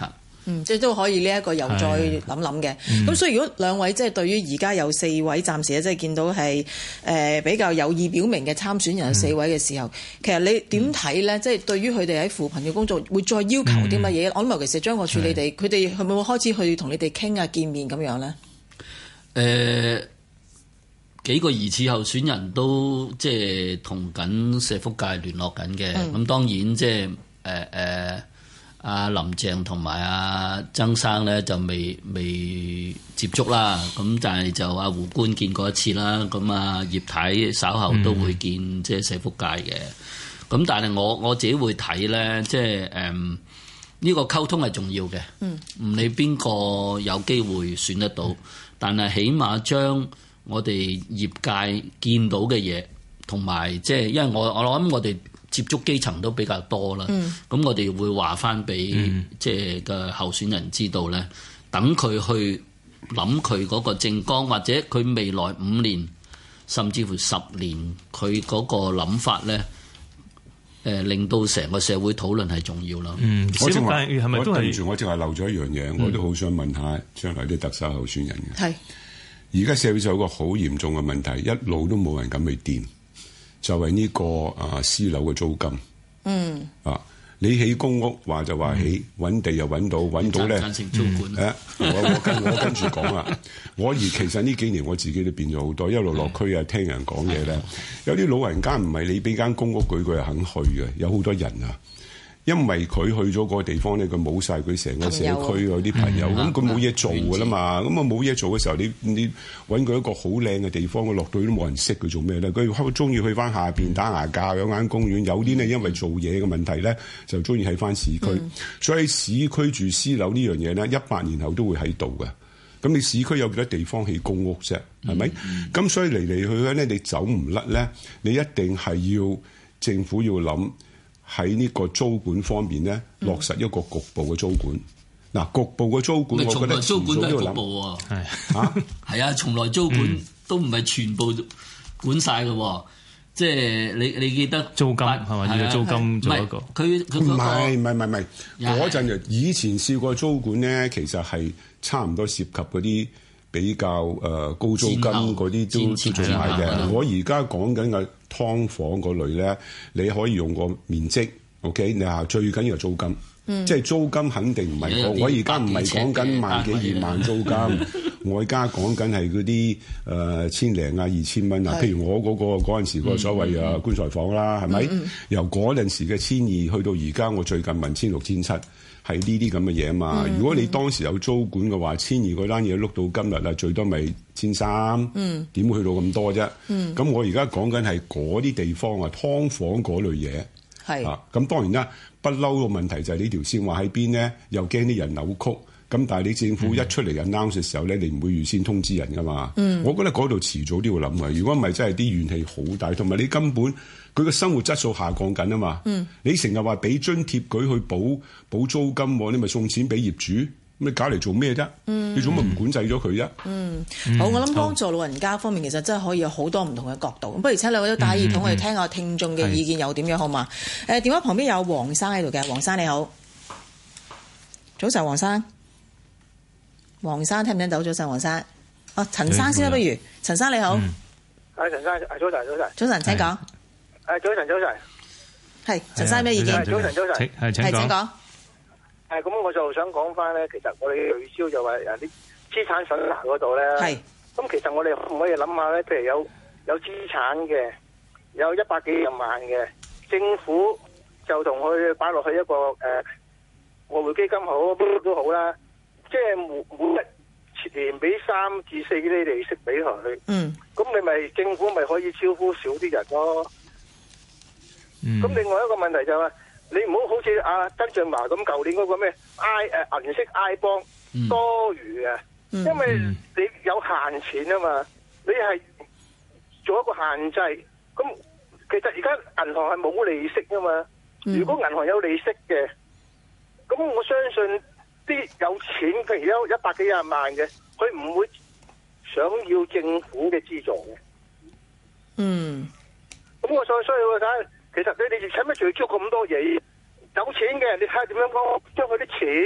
嗯，即係都可以呢一個又再諗諗嘅。咁、嗯、所以如果兩位即係對於而家有四位暫時咧，即係見到係誒、呃、比較有意表明嘅參選人有四位嘅時候，嗯、其實你點睇咧？即、就、係、是、對於佢哋喺扶貧嘅工作會再要求啲乜嘢？嗯、我諗尤其是張國柱你哋，佢哋係咪會開始去同你哋傾啊、見面咁樣咧？誒、 呃。幾個疑似候選人都即係同緊社福界聯絡緊嘅，咁、嗯、當然即係誒誒阿林鄭同埋阿曾生咧就未未接觸啦，咁但係就阿胡官見過一次啦，咁啊葉太稍後都會見即係社福界嘅，咁、嗯、但係我我自己會睇咧，即係誒呢個溝通係重要嘅，唔、嗯、理邊個有機會選得到，嗯、但係起碼將我哋業界見到嘅嘢，同埋即係，因為我我諗我哋接觸基層都比較多啦。咁、嗯、我哋會話翻俾即係嘅候選人知道咧，等佢去諗佢嗰個政綱，或者佢未來五年甚至乎十年佢嗰個諗法咧，誒、呃、令到成個社會討論係重要啦。 嗯，我正話係咪都係住？我正話漏咗一樣嘢，嗯、我都好想問下將來啲特首候選人嘅。係。而家社會就有一個好嚴重嘅問題，一路都冇人敢去掂，就係、是、呢、這個啊私樓嘅租金。嗯。啊，你起公屋話就話起，揾、嗯、地又揾到，揾到咧。贊成租管。誒、嗯，我我跟我跟住講啦。我而其實呢幾年我自己都變咗好多，一路落區啊，聽人講嘢咧。有啲老人家唔係你俾間公屋佢，佢係肯去嘅，有好多人啊。因為佢去咗個地方咧，佢冇晒佢成個社區嗰啲朋友，咁佢冇嘢做噶啦嘛，咁啊冇嘢做嘅時候，你你揾佢一個好靚嘅地方，佢落到去都冇人識佢做咩咧？佢好中意去翻下邊打牙骹，有間公園。有啲呢，因為做嘢嘅問題咧，就中意喺翻市區。嗯、所以市區住私樓呢樣嘢咧，一百年後都會喺度嘅。咁你市區有幾多地方起公屋啫？係咪？咁、嗯、所以嚟嚟去去咧，你走唔甩咧，你一定係要政府要諗。喺呢個租管方面咧，落實一個局部嘅租管。嗱、嗯，局部嘅租管，我覺得租管都係局部喎。係啊，係啊，從來租管都唔係全部管晒嘅。即係你你記得租金係咪？要租金做一個。 佢佢唔係唔係唔係唔係嗰陣就以前試過租管咧，其實係差唔多涉及嗰啲比較誒、呃、高租金嗰啲都都做埋嘅。我而家講緊嘅劏房嗰類咧，你可以用個面積 ，OK？ 你話最緊要係租金，嗯、即係租金肯定唔係我我而家唔係講緊萬幾二萬租金，我而家講緊係嗰啲誒千零啊二千蚊啊。譬如我嗰、嗰個嗰陣時個所謂啊棺材房啦，係咪、嗯嗯？由嗰陣時嘅千二去到而家，我最近問千六千七。係呢啲咁嘅嘢啊嘛！嗯、如果你當時有租管嘅話，千二嗰單嘢碌到今日啊，最多咪千三，點會去到咁多啫？咁、嗯、我而家講緊係嗰啲地方啊，劏房嗰類嘢。係啊，咁當然啦，不嬲個問題就係呢條線話喺邊咧，又驚啲人扭曲。咁但係你政府一出嚟 announce 嘅時候咧，你唔會預先通知人噶嘛？嗯、我覺得嗰度遲早都要諗啊！如果唔係，真係啲怨氣好大，同埋你根本佢個生活質素下降緊啊嘛！嗯、你成日話俾津貼佢去補補租金，你咪送錢俾業主，咁你搞嚟做咩啫？嗯、你做乜唔管制咗佢啫？ 嗯，好，我諗幫助老人家方面，其實真係可以有好多唔同嘅角度。咁不如請兩位都戴耳筒，我哋聽下聽眾嘅意見又點樣好嘛？誒，電話旁邊有黃生喺度嘅，黃生你好，早晨，黃生。黃生聽唔聽到？早晨，黃生。哦，陳生先啦，不如陳生你好。 係陳生，係早晨，早晨。 早晨，請講。 誒，早晨，早晨。 係陳生咩意見？ 早晨，早晨。 係請講。 誒，咁我就想講翻咧，其實我哋取消就話誒啲資產審查嗰度咧。係。咁其實我哋可唔可以諗下咧？譬如有有資產嘅，有一百幾廿萬嘅，政府就同佢擺落去一個誒外匯基金好，乜都好啦。即係每每一年俾三至四啲利息俾佢，嗯，咁你咪政府咪可以招呼少啲人咯。咁、嗯、另外一個問題就係、是，你唔好好似阿曾俊華咁，舊年嗰個咩 I 誒銀色 I 幫、嗯、多餘嘅，嗯、因為你有限錢啊嘛，你係做一個限制。咁其實而家銀行係冇利息啊嘛，嗯、如果銀行有利息嘅，咁我相信。啲有錢，譬如有一百幾廿萬嘅，佢唔會想要政府嘅資助嘅。嗯，咁我再需要睇，其實你哋使乜仲要做咁多嘢？有錢嘅，你睇下點樣講，將佢啲錢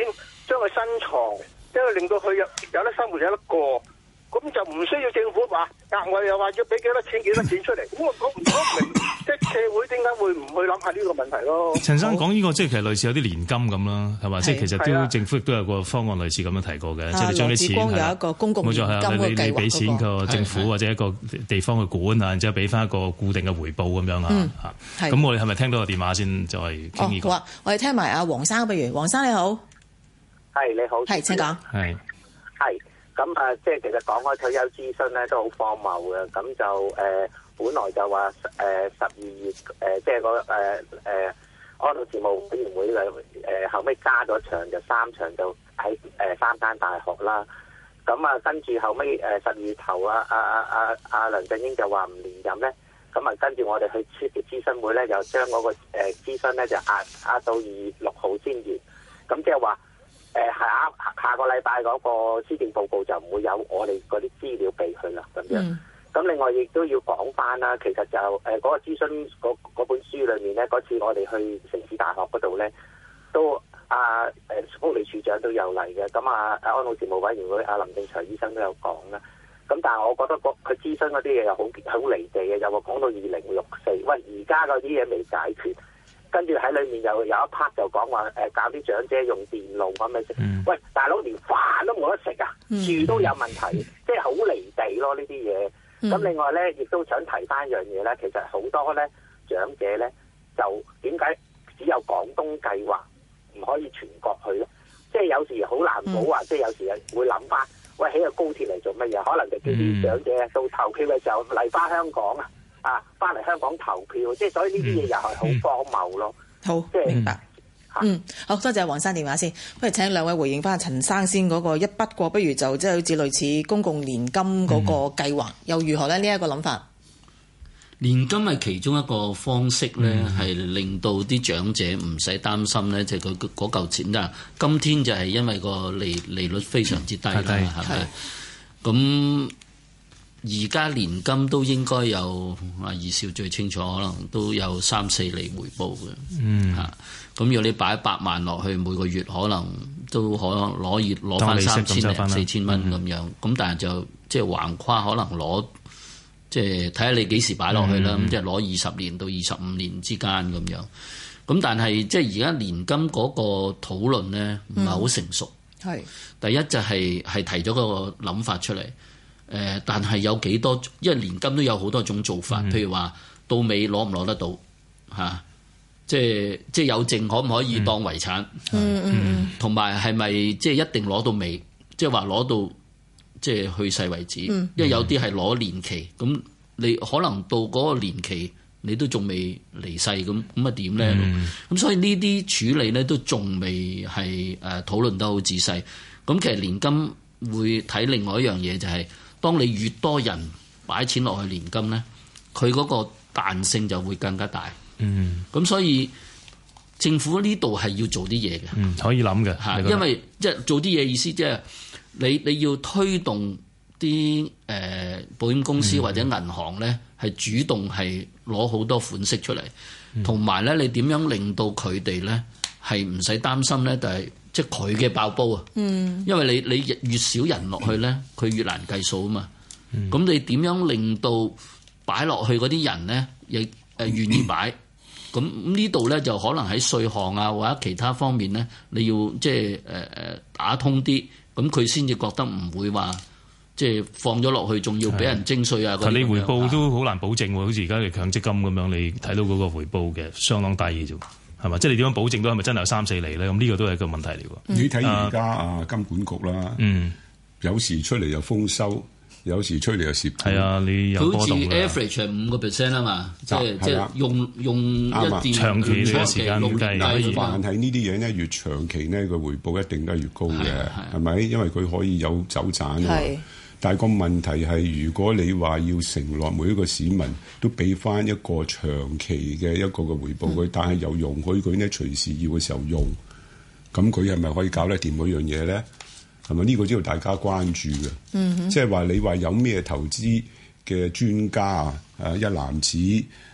將佢新藏，即係令到佢有有得生活有得過。咁就唔需要政府話額外又話要俾幾多錢幾多錢出嚟，咁我講唔講唔明，即係社會點解會唔去諗下呢個問題咯？ 陳生講呢個即係其實類似有啲年金咁啦，係嘛？即係其實都政府亦都有個方案類似咁樣提過嘅，即係你將啲錢係有一個公共年金嘅計劃， 冇錯係你你俾錢個政府或者一個地方去管啊，然之後俾翻一個固定嘅回報咁樣啊嚇。咁我哋係咪聽到個電話先再傾呢個？ 好啊，我哋聽埋阿黃生，不如黃生你好， 係你好， 係請講， 係係。咁啊，即係其實講開退休諮詢咧，都好荒謬嘅。咁就誒、呃，本來就話誒十二月誒、呃，即係個誒誒安老事務委員會嘅誒、呃，後尾加咗場，就三場就喺誒、呃、三間大學啦。咁啊，跟住後尾誒十二月頭啊，阿阿阿阿梁振英就話唔連任咧。咁啊，跟住我哋去出嘅諮詢會咧，就將嗰個誒諮詢咧就壓壓到二月六號先完。咁即係話。誒下下個禮拜嗰個施政報告就唔會有我哋嗰啲資料俾佢啦，咁樣。咁、嗯、另外亦都要講翻啦，其實就誒嗰、呃那個諮詢嗰本書裏面咧，嗰次我哋去城市大學嗰度咧，都啊誒福利處長都有嚟嘅，咁啊安老事務委員會阿林正財醫生都有講啦。咁但係我覺得佢諮詢嗰啲嘢又好好離地嘅，又話講到二零六四，喂而家嗰啲嘢未解決。跟住喺裏面又有一 part 就講話誒教啲長者用電腦咁樣食，嗯、喂大佬連飯都冇得食啊，住都有問題，嗯、即係好離地咯呢啲嘢。咁、嗯、另外咧，亦都想提翻一樣嘢咧，其實好多咧長者咧就點解只有廣東計劃唔可以全國去咧？即係有時好難保啊！嗯、即係有時會諗翻，喂起個高鐵嚟做乜嘢？可能就叫啲長者到投票嘅時候嚟翻香港啊！啊，翻嚟香港投票，即係所以呢啲嘢又係好荒謬咯。 好， 即係明白。嗯，好多謝黃生電話先，不如請兩位回應翻陳生先嗰個一筆過，不如就即係好似類似公共年金嗰個計劃，嗯、又如何咧？呢、這、一個諗法， 年金係其中一個方式咧，係、嗯、令到啲長者唔使擔心咧，就佢嗰嚿錢啦。今天就係因為個利利率非常之低啦，係咪？咁而家年金都應該有啊，二少最清楚，可能都有三四厘回報嘅。嗯，嚇，咁如果你擺一百萬落去，每個月可能都可能攞熱攞翻三千零四千蚊咁樣。咁、嗯、但係就即係橫跨可能攞，即係睇下你幾時擺落去啦。咁、嗯、即係攞二十年到二十五年之間咁樣。咁但係即係而家年金嗰個討論咧，唔係好成熟。係、嗯、第一就係、係、係提咗個諗法出嚟。誒、呃，但係有幾多？因為年金都有好多種做法，嗯、譬如話到尾攞唔攞得到嚇、啊，即係即係有剩可唔可以當遺產？嗯嗯，同埋係咪即係一定攞到尾？即係話攞到即係去世為止？嗯、因為有啲係攞年期，咁你可能到嗰個年期你都仲未離世，咁咁啊點咧？咁、嗯、所以呢啲處理咧都仲未係誒討論得好仔細。咁其實年金會睇另外一樣嘢就係、是。當你越多人擺錢落去年金咧，佢嗰個彈性就會更加大。嗯，咁所以政府呢度係要做啲嘢嘅。 嗯，可以諗嘅嚇， 因為即係做啲嘢意思，即係你你要推動啲誒、呃、保險公司或者銀行咧，係、嗯、主動係攞好多款式出嚟，同埋咧你點樣令到佢哋咧係唔使擔心咧，就係。即係佢嘅爆煲啊！嗯，因為你你越少人落去咧，佢越難計數啊嘛。咁、嗯、你點樣令到擺落去嗰啲人咧，亦誒願意擺？咁呢度咧就可能喺稅項啊或者其他方面咧，你要即係誒誒打通啲，咁佢先至覺得唔會話即係放咗落去，仲要俾人徵稅啊！ 但你回報都好難保證喎，好似而家嘅強積金咁樣，你睇到嗰個回報嘅相當低嘅啫。係嘛？即係你點樣保證到係咪真係有三四厘咧？咁呢個都係一個問題嚟喎。 你睇而家啊金管局啦，嗯，有時出嚟又豐收，有時出嚟又蝕。係啊，你有波動啦。 好似 average 係五個 percent 啊嘛，即係即係用用一段長期嘅時間計。但係呢啲嘢咧越長期咧個回報一定都係越高嘅，係咪？因為佢可以有走盞啊。但係個問題係，如果你話要承諾每一個市民都俾翻一個長期嘅一個嘅回報佢，嗯、但係又容許佢呢隨時要嘅時候用，咁佢係咪可以搞得掂嗰樣嘢咧？係咪呢個知道大家關注嘅？嗯、即係話你話有咩投資嘅專家啊，一籃子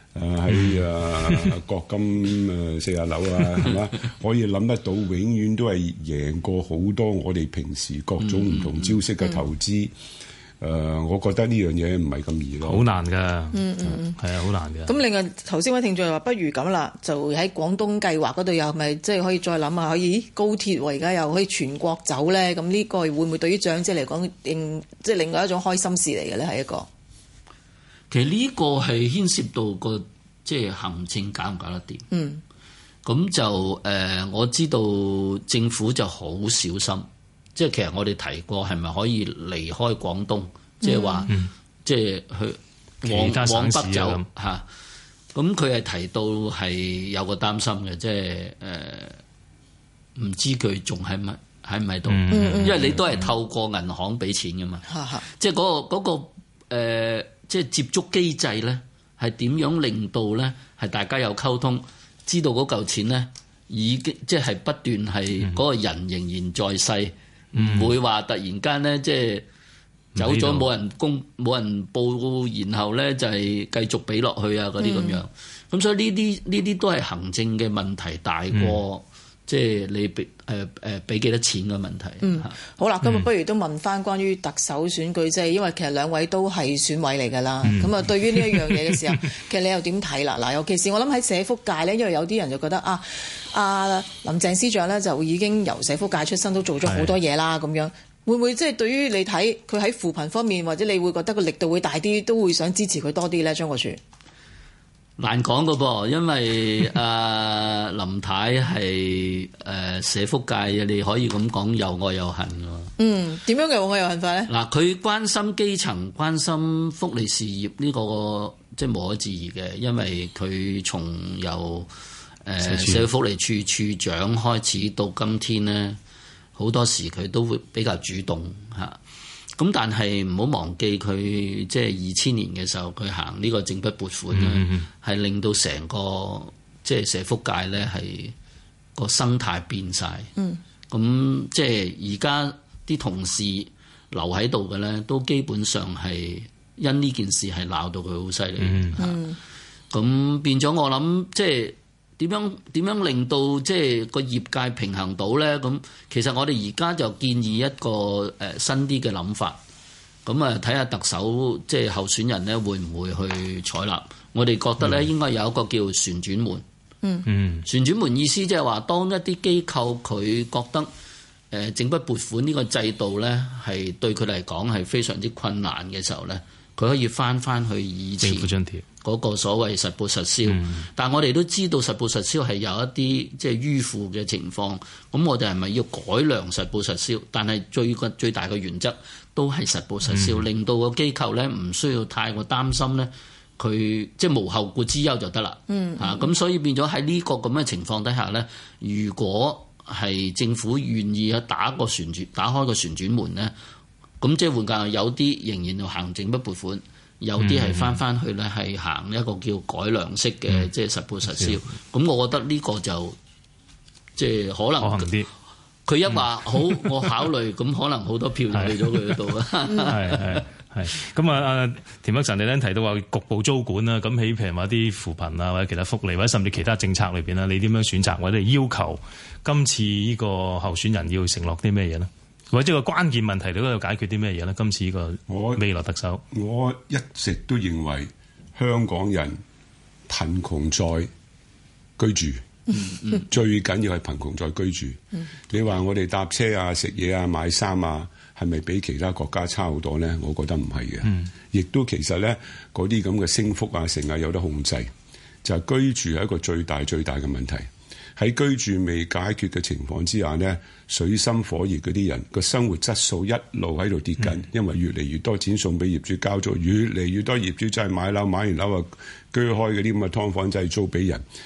誒喺誒國金誒四十樓啊，係嘛？可以諗得到，永遠都係贏過好多我哋平時各種唔同招式嘅投資。誒、嗯嗯呃，我覺得呢樣嘢唔係咁易咯， 好難㗎。 嗯嗯嗯， 係啊，好難㗎。 咁另外頭先位聽眾又話，不如咁啦，就喺廣東計劃嗰度又咪即係可以再諗下，可以高鐵喎，而家又可以全國走咧。咁呢個會唔會對於長者嚟講，另即係另外一種開心事嚟嘅咧？係一個。 其實呢個係牽涉到個即係行政搞唔搞得掂。 嗯， 咁就誒、呃，我知道政府就好小心，即係其實我哋提過係咪可以離開廣東，即係話即係去往往北走嚇。咁佢係提到係有個擔心嘅，即係誒唔知佢仲喺咪喺唔喺度，因為你都係透過銀行俾錢㗎嘛， 嗯、 即係嗰、嗰個嗰、嗰個、呃即係接觸機制咧，係點樣令到咧係大家有溝通，知道嗰嚿錢咧已經即係不斷係嗰個人仍然在世，唔、嗯、會話突然間咧即係走咗冇人公冇人報，然後咧就係繼續俾落去啊嗰啲咁樣。咁、嗯、所以呢啲呢啲都係行政嘅問題大過。嗯即係你俾誒誒俾幾多錢嘅問題。 嗯，好啦，今日不如都問翻關於特首選舉，即係因為其實兩位都係選委嚟㗎啦。咁啊、嗯，對於呢一樣嘢嘅時候，其實你又點睇啦？嗱，尤其是我諗喺社福界咧，因為有啲人就覺得啊，阿林鄭司長咧就已經由社福界出身，都做咗好多嘢啦。咁樣會唔會即係對於你睇佢喺扶貧方面，或者你會覺得個力度會大啲，都會想支持佢多啲咧？張國柱。 難講㗎噃，因為阿、呃、林太係誒、呃、社福界嘅，你可以咁講又愛又恨㗎。 嗯，點樣嘅又愛又恨法咧？嗱， 佢關心基層、關心福利事業呢、這個即係無可置疑嘅，因為佢從由誒、呃、社會福利處處長開始到今天咧，好多時佢都會比較主動嚇。咁但係唔好忘記佢即係二千年嘅時候，佢行呢個整筆撥款咧，係、嗯、令到成個即係社福界咧係個生態變晒。咁、嗯、即係而家啲同事留喺度嘅咧，都基本上係因呢件事係鬧到佢好犀利。咁、嗯嗯、變咗我諗即係。點樣點樣令到即係個業界平衡到咧？咁其實我哋而家就建議一個誒新啲嘅諗法，咁啊睇下特首即係候選人咧會唔會去採納？我哋覺得咧應該有一個叫旋轉門。嗯嗯，旋轉門意思即係話，當一啲機構佢覺得誒整筆撥款呢個制度咧係對佢嚟講係非常之困難嘅時候咧，佢可以翻翻去以前政府津貼嗰個所謂實報實銷，嗯、但係我哋都知道實報實銷係有一啲即係迂腐嘅情況，咁我哋係咪要改良實報實銷？但係最個最大嘅原則都係實報實銷，嗯、令到個機構咧唔需要太過擔心咧，佢即係無後顧之憂就得啦。嗯，嚇咁、啊、所以變咗喺呢個咁嘅情況底下咧，如果係政府願意去打個旋轉打開個旋轉門咧，咁即係換句有啲仍然要行政不撥款。有啲係翻翻去咧，係行一個叫改良式嘅，嗯、即係實報實銷。咁、嗯、我覺得呢個就即係可能啲。佢一話、嗯、好，我考慮，咁可能好多票就去咗佢嗰度啦。 係係係。咁啊啊，田北辰你咧提到話局部租管啦，咁喺譬如話啲扶貧啊，或者其他福利，或者甚至其他政策裏邊啦，你點樣選擇或者要求今次呢個候選人要承諾啲咩嘢呢？或者個關鍵問題，你都要解決啲咩嘢咧？今次呢個未來特首， 我，我一直都認為香港人貧窮在居住，嗯嗯、最緊要係貧窮在居住。嗯、你話我哋搭車啊、食嘢啊、買衫啊，係咪比其他國家差好多咧？我覺得唔係嘅，亦、嗯、都其實咧嗰啲咁嘅升幅啊，成日有得控制，就係、是、居住係一個最大最大嘅問題。喺居住未解決嘅情況之下呢，水深火熱嗰啲人個生活質素一路喺度跌緊，嗯、因為越嚟越多錢送俾業主交租，越嚟越多業主真係買樓買完樓啊，居開嗰啲咁嘅劏房真係租俾人。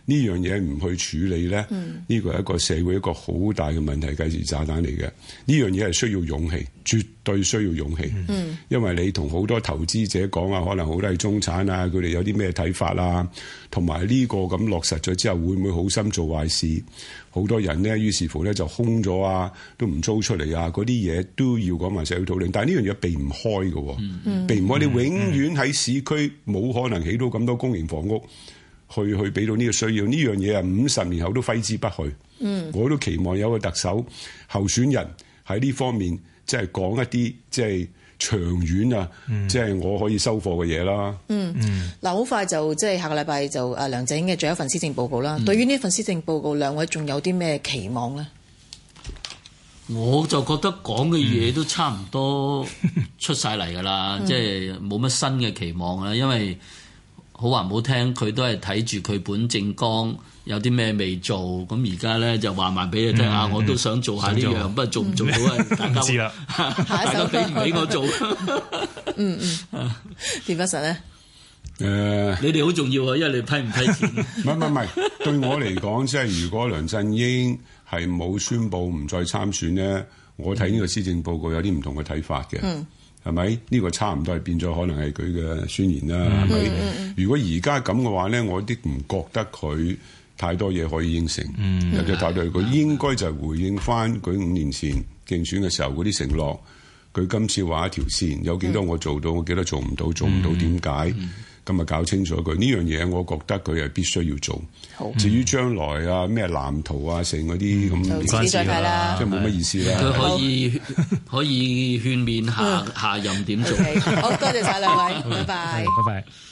呢樣嘢唔去處理咧，呢、嗯、個係一個社會一個好大嘅問題，計時炸彈嚟嘅。呢樣嘢係需要勇氣，絕對需要勇氣。嗯，因為你同好多投資者講啊，可能好多係中產啊，佢哋有啲咩睇法啊，同埋呢個咁落實咗之後，會唔會好心做壞事？好多人咧，於是乎咧就空咗啊，都唔租出嚟啊，嗰啲嘢都要講埋社會討論。但係呢樣嘢避唔開嘅，嗯、避唔開。你永遠喺市區冇可能起到咁多公營房屋。去去俾到呢個需要，呢樣嘢啊，五十年後都揮之不去。嗯，我都期望有個特首候選人喺呢方面，即係講一啲即係長遠啊，嗯、即係我可以收貨嘅嘢啦。嗯嗯， 嗱，好快就即係下個禮拜就誒梁振英嘅最後一份施政報告啦。嗯、對於呢份施政報告，兩位仲有啲咩期望咧？ 我就覺得講嘅嘢都差唔多出晒嚟㗎啦，嗯、即係冇乜新嘅期望啦，因為。好話唔好聽，佢都係睇住佢本政綱有啲咩未做，咁而家咧就話埋俾你聽啊！我都想做下呢樣，不過做唔做到啊？大家知啦，大家俾唔俾我做？ 嗯嗯，田北辰咧， 誒， 你哋好重要啊，因為你批唔批錢？ 唔係唔係唔係，對我嚟講，即係如果梁振英係冇宣佈唔再參選咧，我睇呢個施政報告有啲唔同嘅睇法嘅。嗯。係咪？呢、這個差唔多係變咗，可能係佢嘅宣言啦。係咪、嗯？嗯、如果而家咁嘅話咧，我啲唔覺得佢太多嘢可以應承。嗯，有啲太多佢應該就係回應翻佢五年前競選嘅時候嗰啲承諾。佢今次畫一條線，有幾多我做到，我幾多做唔到，做唔到點解？咁啊搞清楚佢呢樣嘢，我覺得佢係必須要做。好，至於將來啊咩藍圖啊成嗰啲咁，唔關事啦，即係冇乜意思啦。 佢可以可以勸勉下下任點做。 好多謝晒兩位，拜拜， 拜拜。